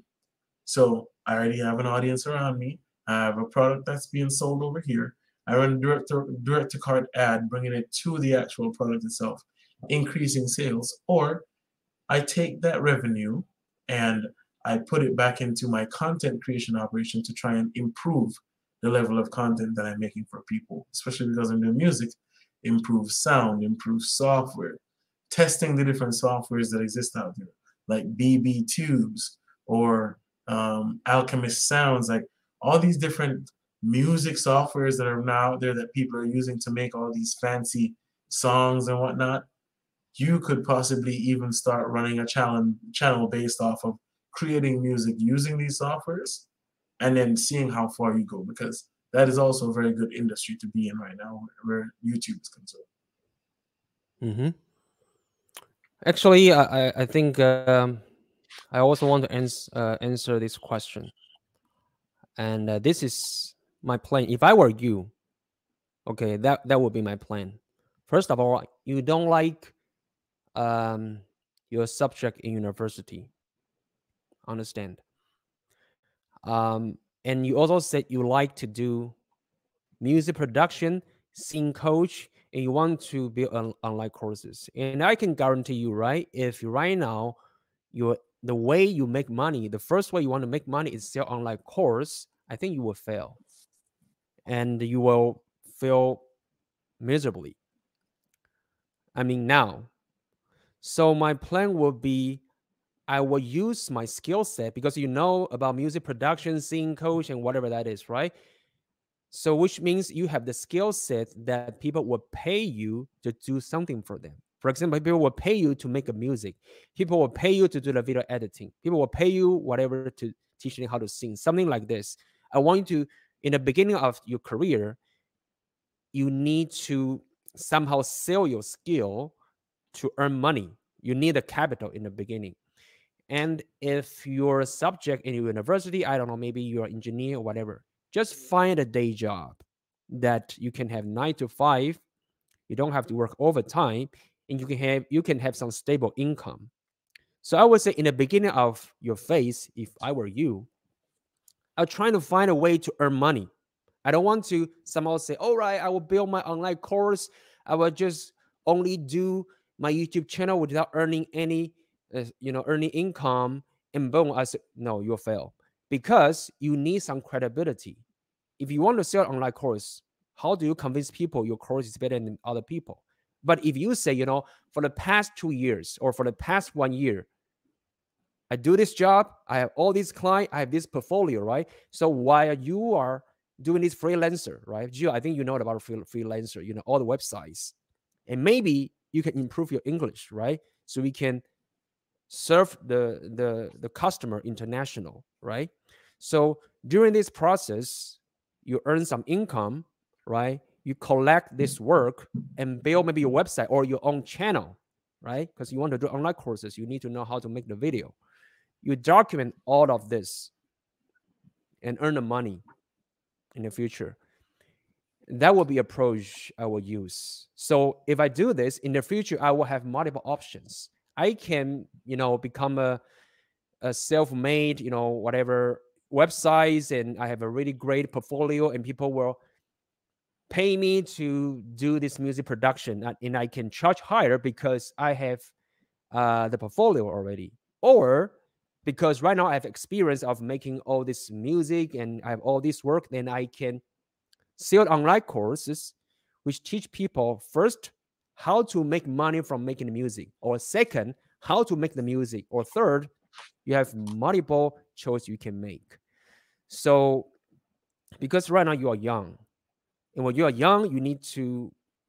So I already have an audience around me. I have a product that's being sold over here. I run a direct to, direct to cart ad, bringing it to the actual product itself, increasing sales. Or I take that revenue and I put it back into my content creation operation to try and improve the level of content that I'm making for people, especially because I'm doing music, improve sound, improve software, testing the different softwares that exist out there, like B B Tubes or um, Alchemist Sounds, like all these different music softwares that are now out there that people are using to make all these fancy songs and whatnot. You could possibly even start running a channel channel based off of creating music using these softwares and then seeing how far you go, because that is also a very good industry to be in right now where YouTube is concerned. Mm-hmm. Actually, I, I I think um, I also want to ans- uh, answer this question. And uh, this is my plan. If I were you, okay, that, that would be my plan. First of all, you don't like um, your subject in university. Understand? Um, and you also said you like to do music production, sing coach, and you want to build on, online courses. And I can guarantee you, right? If right now you the way you make money, the first way you want to make money is sell online course, I think you will fail, and you will fail miserably. I mean now. So my plan will be I will use my skill set because you know about music production, singing coach, and whatever that is, right? So which means you have the skill set that people will pay you to do something for them. For example, people will pay you to make a music. People will pay you to do the video editing. People will pay you whatever to teach them how to sing, something like this. I want you to, in the beginning of your career, you need to somehow sell your skill to earn money. You need a capital in the beginning. And if you're a subject in your university, I don't know, maybe you're an engineer or whatever, just find a day job that you can have nine to five. You don't have to work overtime, and you can have you can have some stable income. So I would say in the beginning of your phase, if I were you, I'm trying to find a way to earn money. I don't want to somehow say, all right, I will build my online course. I will just only do my YouTube channel without earning any, uh, you know, earning income. And boom, I said, no, you'll fail because you need some credibility. If you want to sell an online course, how do you convince people your course is better than other people? But if you say, you know, for the past two years or for the past one year, I do this job, I have all these clients, I have this portfolio, right? So while you are doing this freelancer, right? Gio, I think you know about freelancer, you know, all the websites. And maybe you can improve your English, right? So we can serve the, the, the customer international, right? So during this process, you earn some income, right? You collect this work and build maybe your website or your own channel, right? Because you want to do online courses, you need to know how to make the video. You document all of this and earn the money in the future. That will be approach I will use. So if I do this in the future, I will have multiple options. I can, you know, become a, a self-made, you know, whatever websites, and I have a really great portfolio, and people will pay me to do this music production, and I can charge higher because I have uh, the portfolio already. Or because right now I have experience of making all this music and I have all this work, then I can sell online courses which teach people first how to make money from making the music, or second, how to make the music, or third, you have multiple choice you can make. So because right now you are young, and when you are young, you need to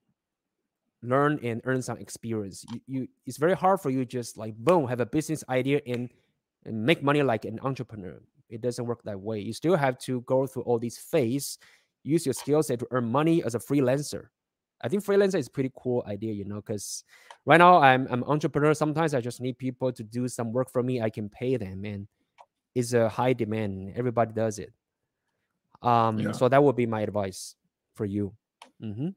learn and earn some experience. You, you it's very hard for you just like boom, have a business idea and and make money like an entrepreneur. It doesn't work that way. You still have to go through all these phases, use your skill set to earn money as a freelancer. I think freelancer is a pretty cool idea, you know, because right now I'm I'm an entrepreneur. Sometimes I just need people to do some work for me. I can pay them, and it's a high demand. Everybody does it. Um, yeah. So that would be my advice for you. Mm-hmm.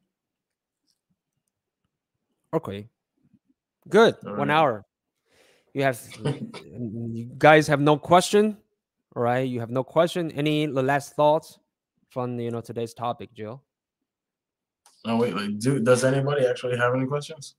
Okay, good. All One right. hour. You have, you guys have no question, all right? You have no question. Any last thoughts from you know today's topic, Jill? Oh wait, like, do does anybody actually have any questions?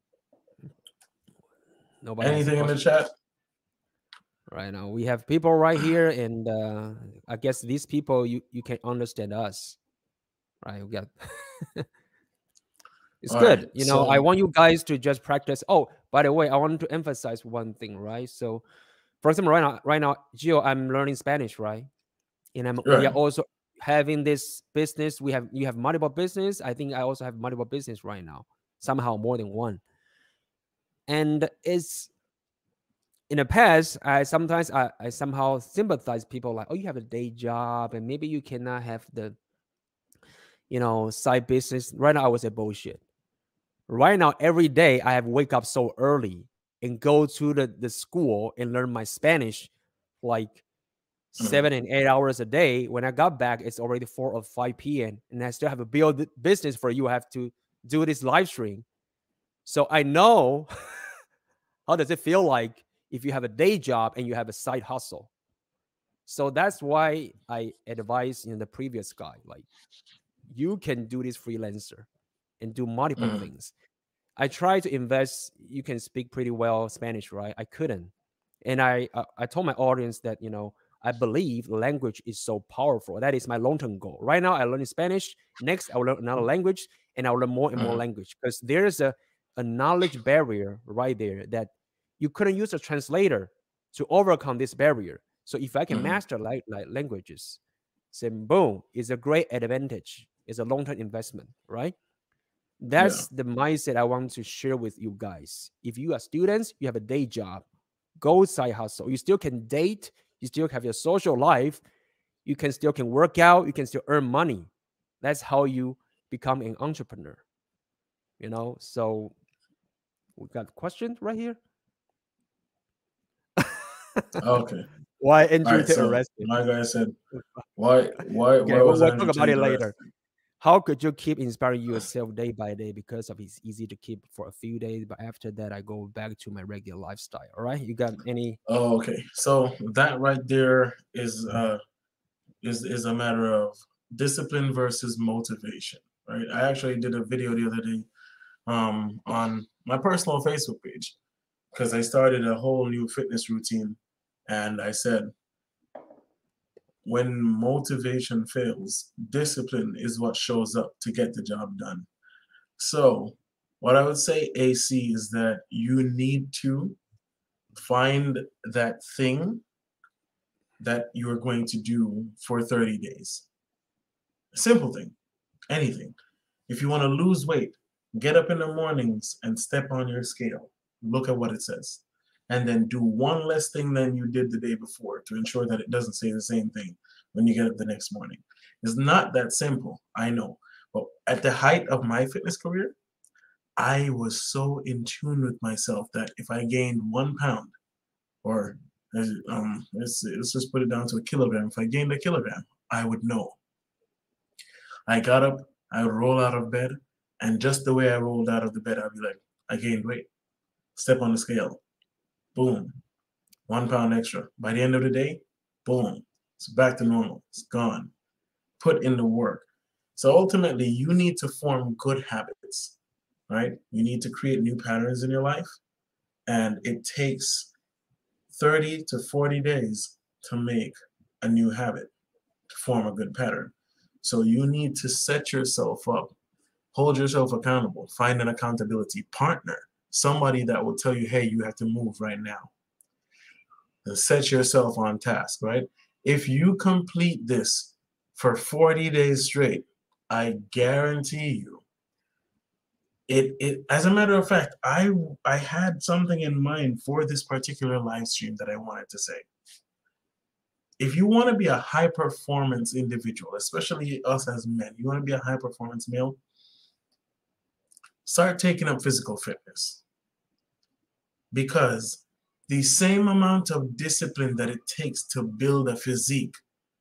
Nobody. Anything in the chat? Right now, we have people right here, and uh, I guess these people you you can understand us, right? We got. It's All good. Right, you know, so... I want you guys to just practice. Oh, by the way, I want to emphasize one thing, right? So, for example, right now, right now, Gio, I'm learning Spanish, right? And I'm right. we are also having this business. We have you have multiple business. I think I also have multiple business right now, somehow more than one. And it's in the past, I sometimes I, I somehow sympathize people like, oh, you have a day job, and maybe you cannot have the, you know, side business. Right now, I would say bullshit. Right now, every day I have wake up so early and go to the, the school and learn my Spanish like mm-hmm. seven and eight hours a day. When I got back, it's already four or five p m and I still have a build business for you. I have to do this live stream. So I know how does it feel like if you have a day job and you have a side hustle. So that's why I advise in you know, the previous guy, like you can do this freelancer and do multiple mm. things. I try to invest. You can speak pretty well Spanish, right? I couldn't. And I, I, I told my audience that, you know, I believe language is so powerful. That is my long-term goal. Right now, I learn Spanish. Next, I will learn another language, and I will learn more and more mm. language. Because there's a a knowledge barrier right there that you couldn't use a translator to overcome this barrier. So if I can Mm-hmm. master like, like languages, then boom, it's a great advantage. It's a long-term investment, right? Yeah. That's the mindset I want to share with you guys. If you are students, you have a day job, go side hustle. You still can date, you still have your social life, you can still can work out, you can still earn money. That's how you become an entrepreneur. You know, so we got a question right here. Okay. Why All Andrew right. Tate So arrested? my guy said, why, why, why Okay, we'll, was we'll talk Andrew about it Tate later. arrested? How could you keep inspiring yourself day by day? Because of it's easy to keep for a few days, but after that, I go back to my regular lifestyle. All right, you got any? Oh, okay. So that right there is uh is is a matter of discipline versus motivation, right? I actually did a video the other day um on my personal Facebook page because I started a whole new fitness routine, and I said when motivation fails, discipline is what shows up to get the job done. So what I would say, A C, is that you need to find that thing that you're going to do for thirty days. Simple thing, anything. If you want to lose weight, get up in the mornings and step on your scale. Look at what it says. And then do one less thing than you did the day before to ensure that it doesn't say the same thing when you get up the next morning. It's not that simple, I know. But at the height of my fitness career, I was so in tune with myself that if I gained one pound, or um, let's, let's just put it down to a kilogram, if I gained a kilogram, I would know. I got up, I would roll out of bed, and just the way I rolled out of the bed, I'd be like, I gained weight. Step on the scale. Boom. One pound extra. By the end of the day, boom. It's back to normal. It's gone. Put in the work. So ultimately, you need to form good habits, right? You need to create new patterns in your life. And it takes thirty to forty days to make a new habit, to form a good pattern. So you need to set yourself up, hold yourself accountable, find an accountability partner, somebody that will tell you, hey, you have to move right now. And set yourself on task, right? If you complete this for forty days straight, I guarantee you, it, it as a matter of fact, I I had something in mind for this particular live stream that I wanted to say. If you want to be a high performance individual, especially us as men, you want to be a high performance male, start taking up physical fitness. Because the same amount of discipline that it takes to build a physique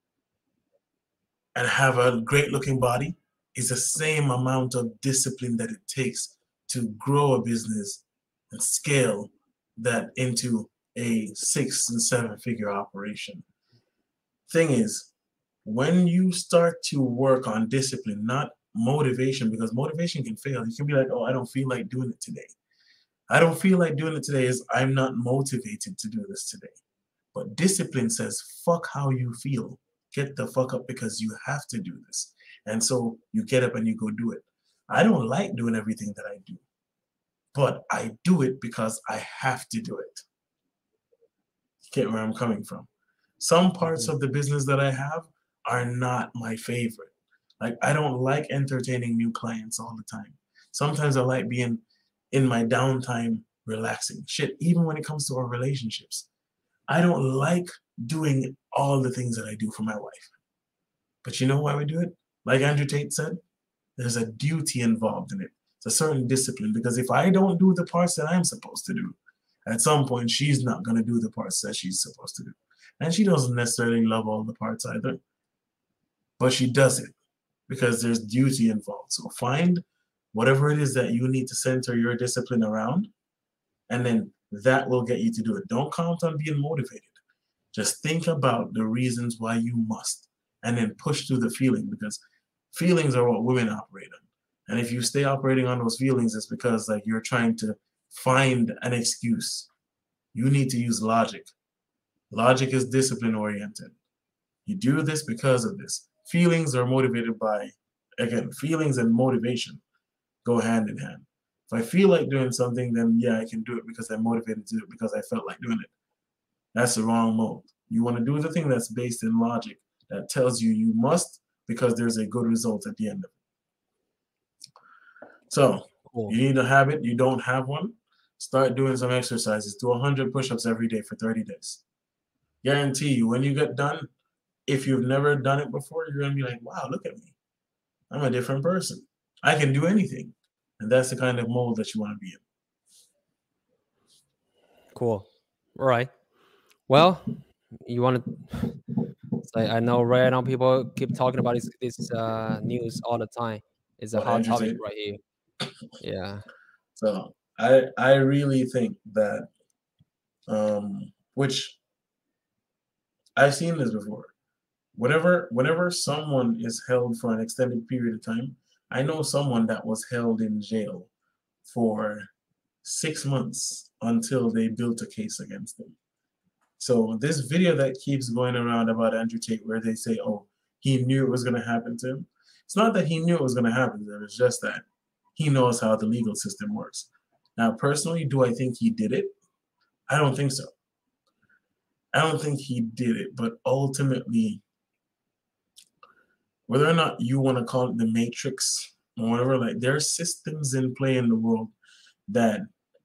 and have a great looking body is the same amount of discipline that it takes to grow a business and scale that into a six and seven figure operation. Thing is, when you start to work on discipline, not motivation, because motivation can fail. You can be like, oh, I don't feel like doing it today. I don't feel like doing it today is I'm not motivated to do this today. But discipline says, fuck how you feel. Get the fuck up because you have to do this. And so you get up and you go do it. I don't like doing everything that I do, but I do it because I have to do it. Get where I'm coming from. Some parts of the business that I have are not my favorite. Like, I don't like entertaining new clients all the time. Sometimes I like being in my downtime relaxing. Shit, even when it comes to our relationships, I don't like doing all the things that I do for my wife. But you know why we do it? Like Andrew Tate said, there's a duty involved in it. It's a certain discipline, because if I don't do the parts that I'm supposed to do, at some point she's not going to do the parts that she's supposed to do. And she doesn't necessarily love all the parts either, but she does it because there's duty involved. So find whatever it is that you need to center your discipline around, and then that will get you to do it. Don't count on being motivated. Just think about the reasons why you must, and then push through the feeling, because feelings are what women operate on. And if you stay operating on those feelings, it's because like you're trying to find an excuse. You need to use logic. Logic is discipline oriented. You do this because of this. Feelings are motivated by, again, feelings and motivation go hand in hand. If I feel like doing something, then yeah, I can do it because I'm motivated to do it because I felt like doing it. That's the wrong mode. You want to do the thing that's based in logic, that tells you you must because there's a good result at the end of it. So Cool. you need a habit, you don't have one, start doing some exercises. Do one hundred push-ups every day for thirty days. Guarantee you, when you get done, if you've never done it before, you're going to be like, wow, look at me. I'm a different person. I can do anything. And that's the kind of mold that you want to be in. Cool. All right. Well, you want to... I, I know right now people keep talking about this, this uh, news all the time. It's a What, hot Andrew topic Tate? right here. Yeah. So I I really think that, um, which I've seen this before. Whenever whenever someone is held for an extended period of time, I know someone that was held in jail for six months until they built a case against them. So this video that keeps going around about Andrew Tate, where they say, oh, he knew it was going to happen to him. It's not that he knew it was going to happen to him. It's just that he knows how the legal system works. Now, personally, do I think he did it? I don't think so. I don't think he did it. But ultimately, whether or not you want to call it the Matrix or whatever, like there are systems in play in the world that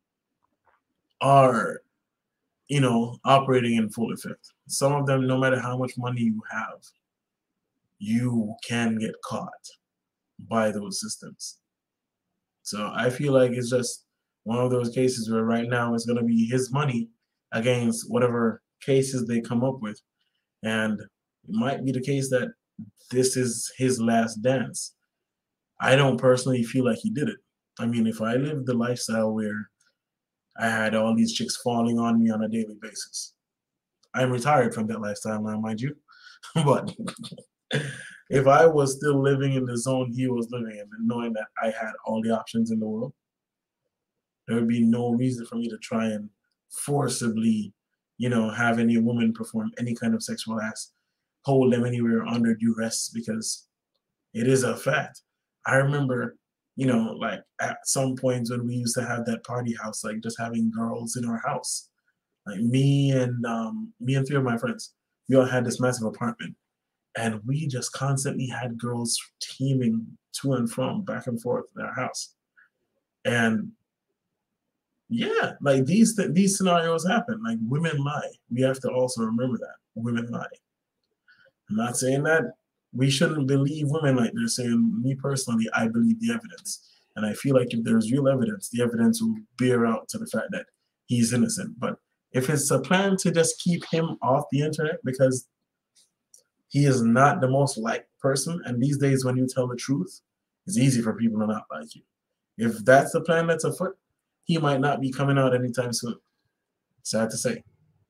are, you know, operating in full effect. Some of them, no matter how much money you have, you can get caught by those systems. So I feel like it's just one of those cases where right now it's going to be his money against whatever cases they come up with. And it might be the case that this is his last dance. I don't personally feel like he did it. I mean, if I lived the lifestyle where I had all these chicks falling on me on a daily basis, I'm retired from that lifestyle now, mind you. But if I was still living in the zone he was living in and knowing that I had all the options in the world, there would be no reason for me to try and forcibly, you know, have any woman perform any kind of sexual acts, hold them anywhere under duress, because it is a fact. I remember, you know, like at some points when we used to have that party house, like just having girls in our house, like me and um, me and three of my friends, we all had this massive apartment, and we just constantly had girls teaming to and from, back and forth in our house. And yeah, like these th- these scenarios happen. Like women lie. We have to also remember that women lie. I'm not saying that we shouldn't believe women like they're saying. Me personally, I believe the evidence, and I feel like if there's real evidence, the evidence will bear out to the fact that he's innocent. But if it's a plan to just keep him off the internet because he is not the most liked person, and these days when you tell the truth, it's easy for people to not like you. If that's the plan that's afoot, he might not be coming out anytime soon. Sad to say.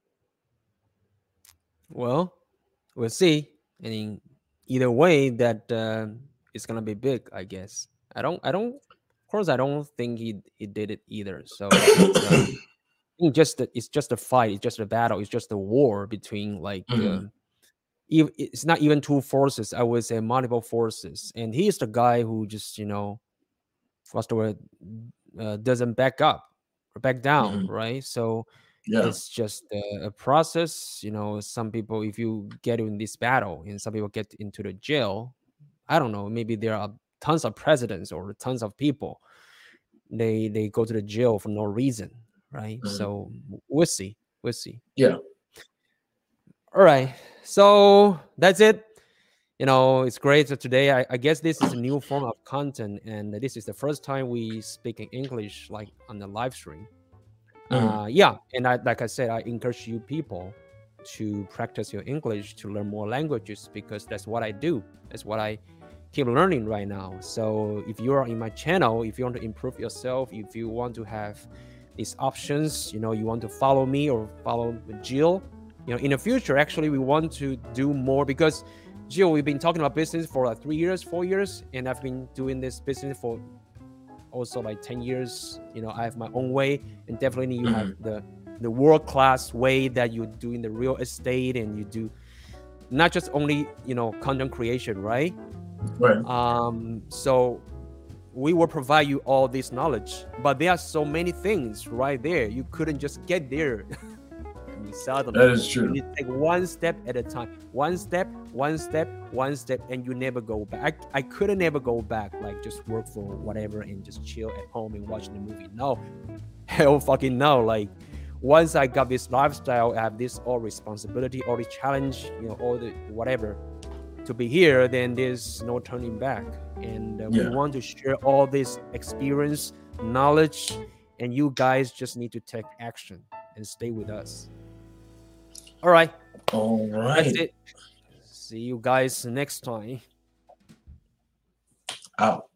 Well, we'll see. I mean, either way, that uh, it's gonna be big, I guess. I don't, I don't. Of course, I don't think he he did it either. So it's uh, I think just the, it's just a fight. It's just a battle. It's just a war between like. Mhm. Uh, ev- it's not even two forces. I would say multiple forces, and he is the guy who just you know, what's the word, uh, doesn't back up or back down, Mhm. right? So Yeah. it's just a, a process. You know, some people, if you get in this battle, and some people get into the jail, I don't know. Maybe there are tons of presidents or tons of people. They they go to the jail for no reason, right? Mhm. So we'll see. We'll see. Yeah. All right. So that's it. You know, it's great. So today, I, I guess this is a new form of content, and this is the first time we speak in English, like on the live stream. Mhm. Uh, yeah, and I, like I said, I encourage you people to practice your English to learn more languages, because that's what I do. That's what I keep learning right now. So if you are in my channel, if you want to improve yourself, if you want to have these options, you know, you want to follow me or follow Jill, you know, in the future, actually, we want to do more, because Jill, we've been talking about business for like three years, four years, and I've been doing this business for also like ten years. You know, I have my own way, and definitely you Mhm. have the the world-class way that you do in the real estate, and you do not just only, you know, content creation, right? Right. Um, so we will provide you all this knowledge, but there are so many things right there. You couldn't just get there. Suddenly, that is true. you need to take one step at a time. One step, one step, one step, and you never go back. I, I couldn't ever go back, like just work for whatever and just chill at home and watch the movie. No, hell fucking no. Like once I got this lifestyle, I have this all responsibility, all the challenge, you know, all the whatever to be here, then there's no turning back. And uh, Yeah. we want to share all this experience, knowledge, and you guys just need to take action and stay with us. All right. All right. That's it. See you guys next time. Out.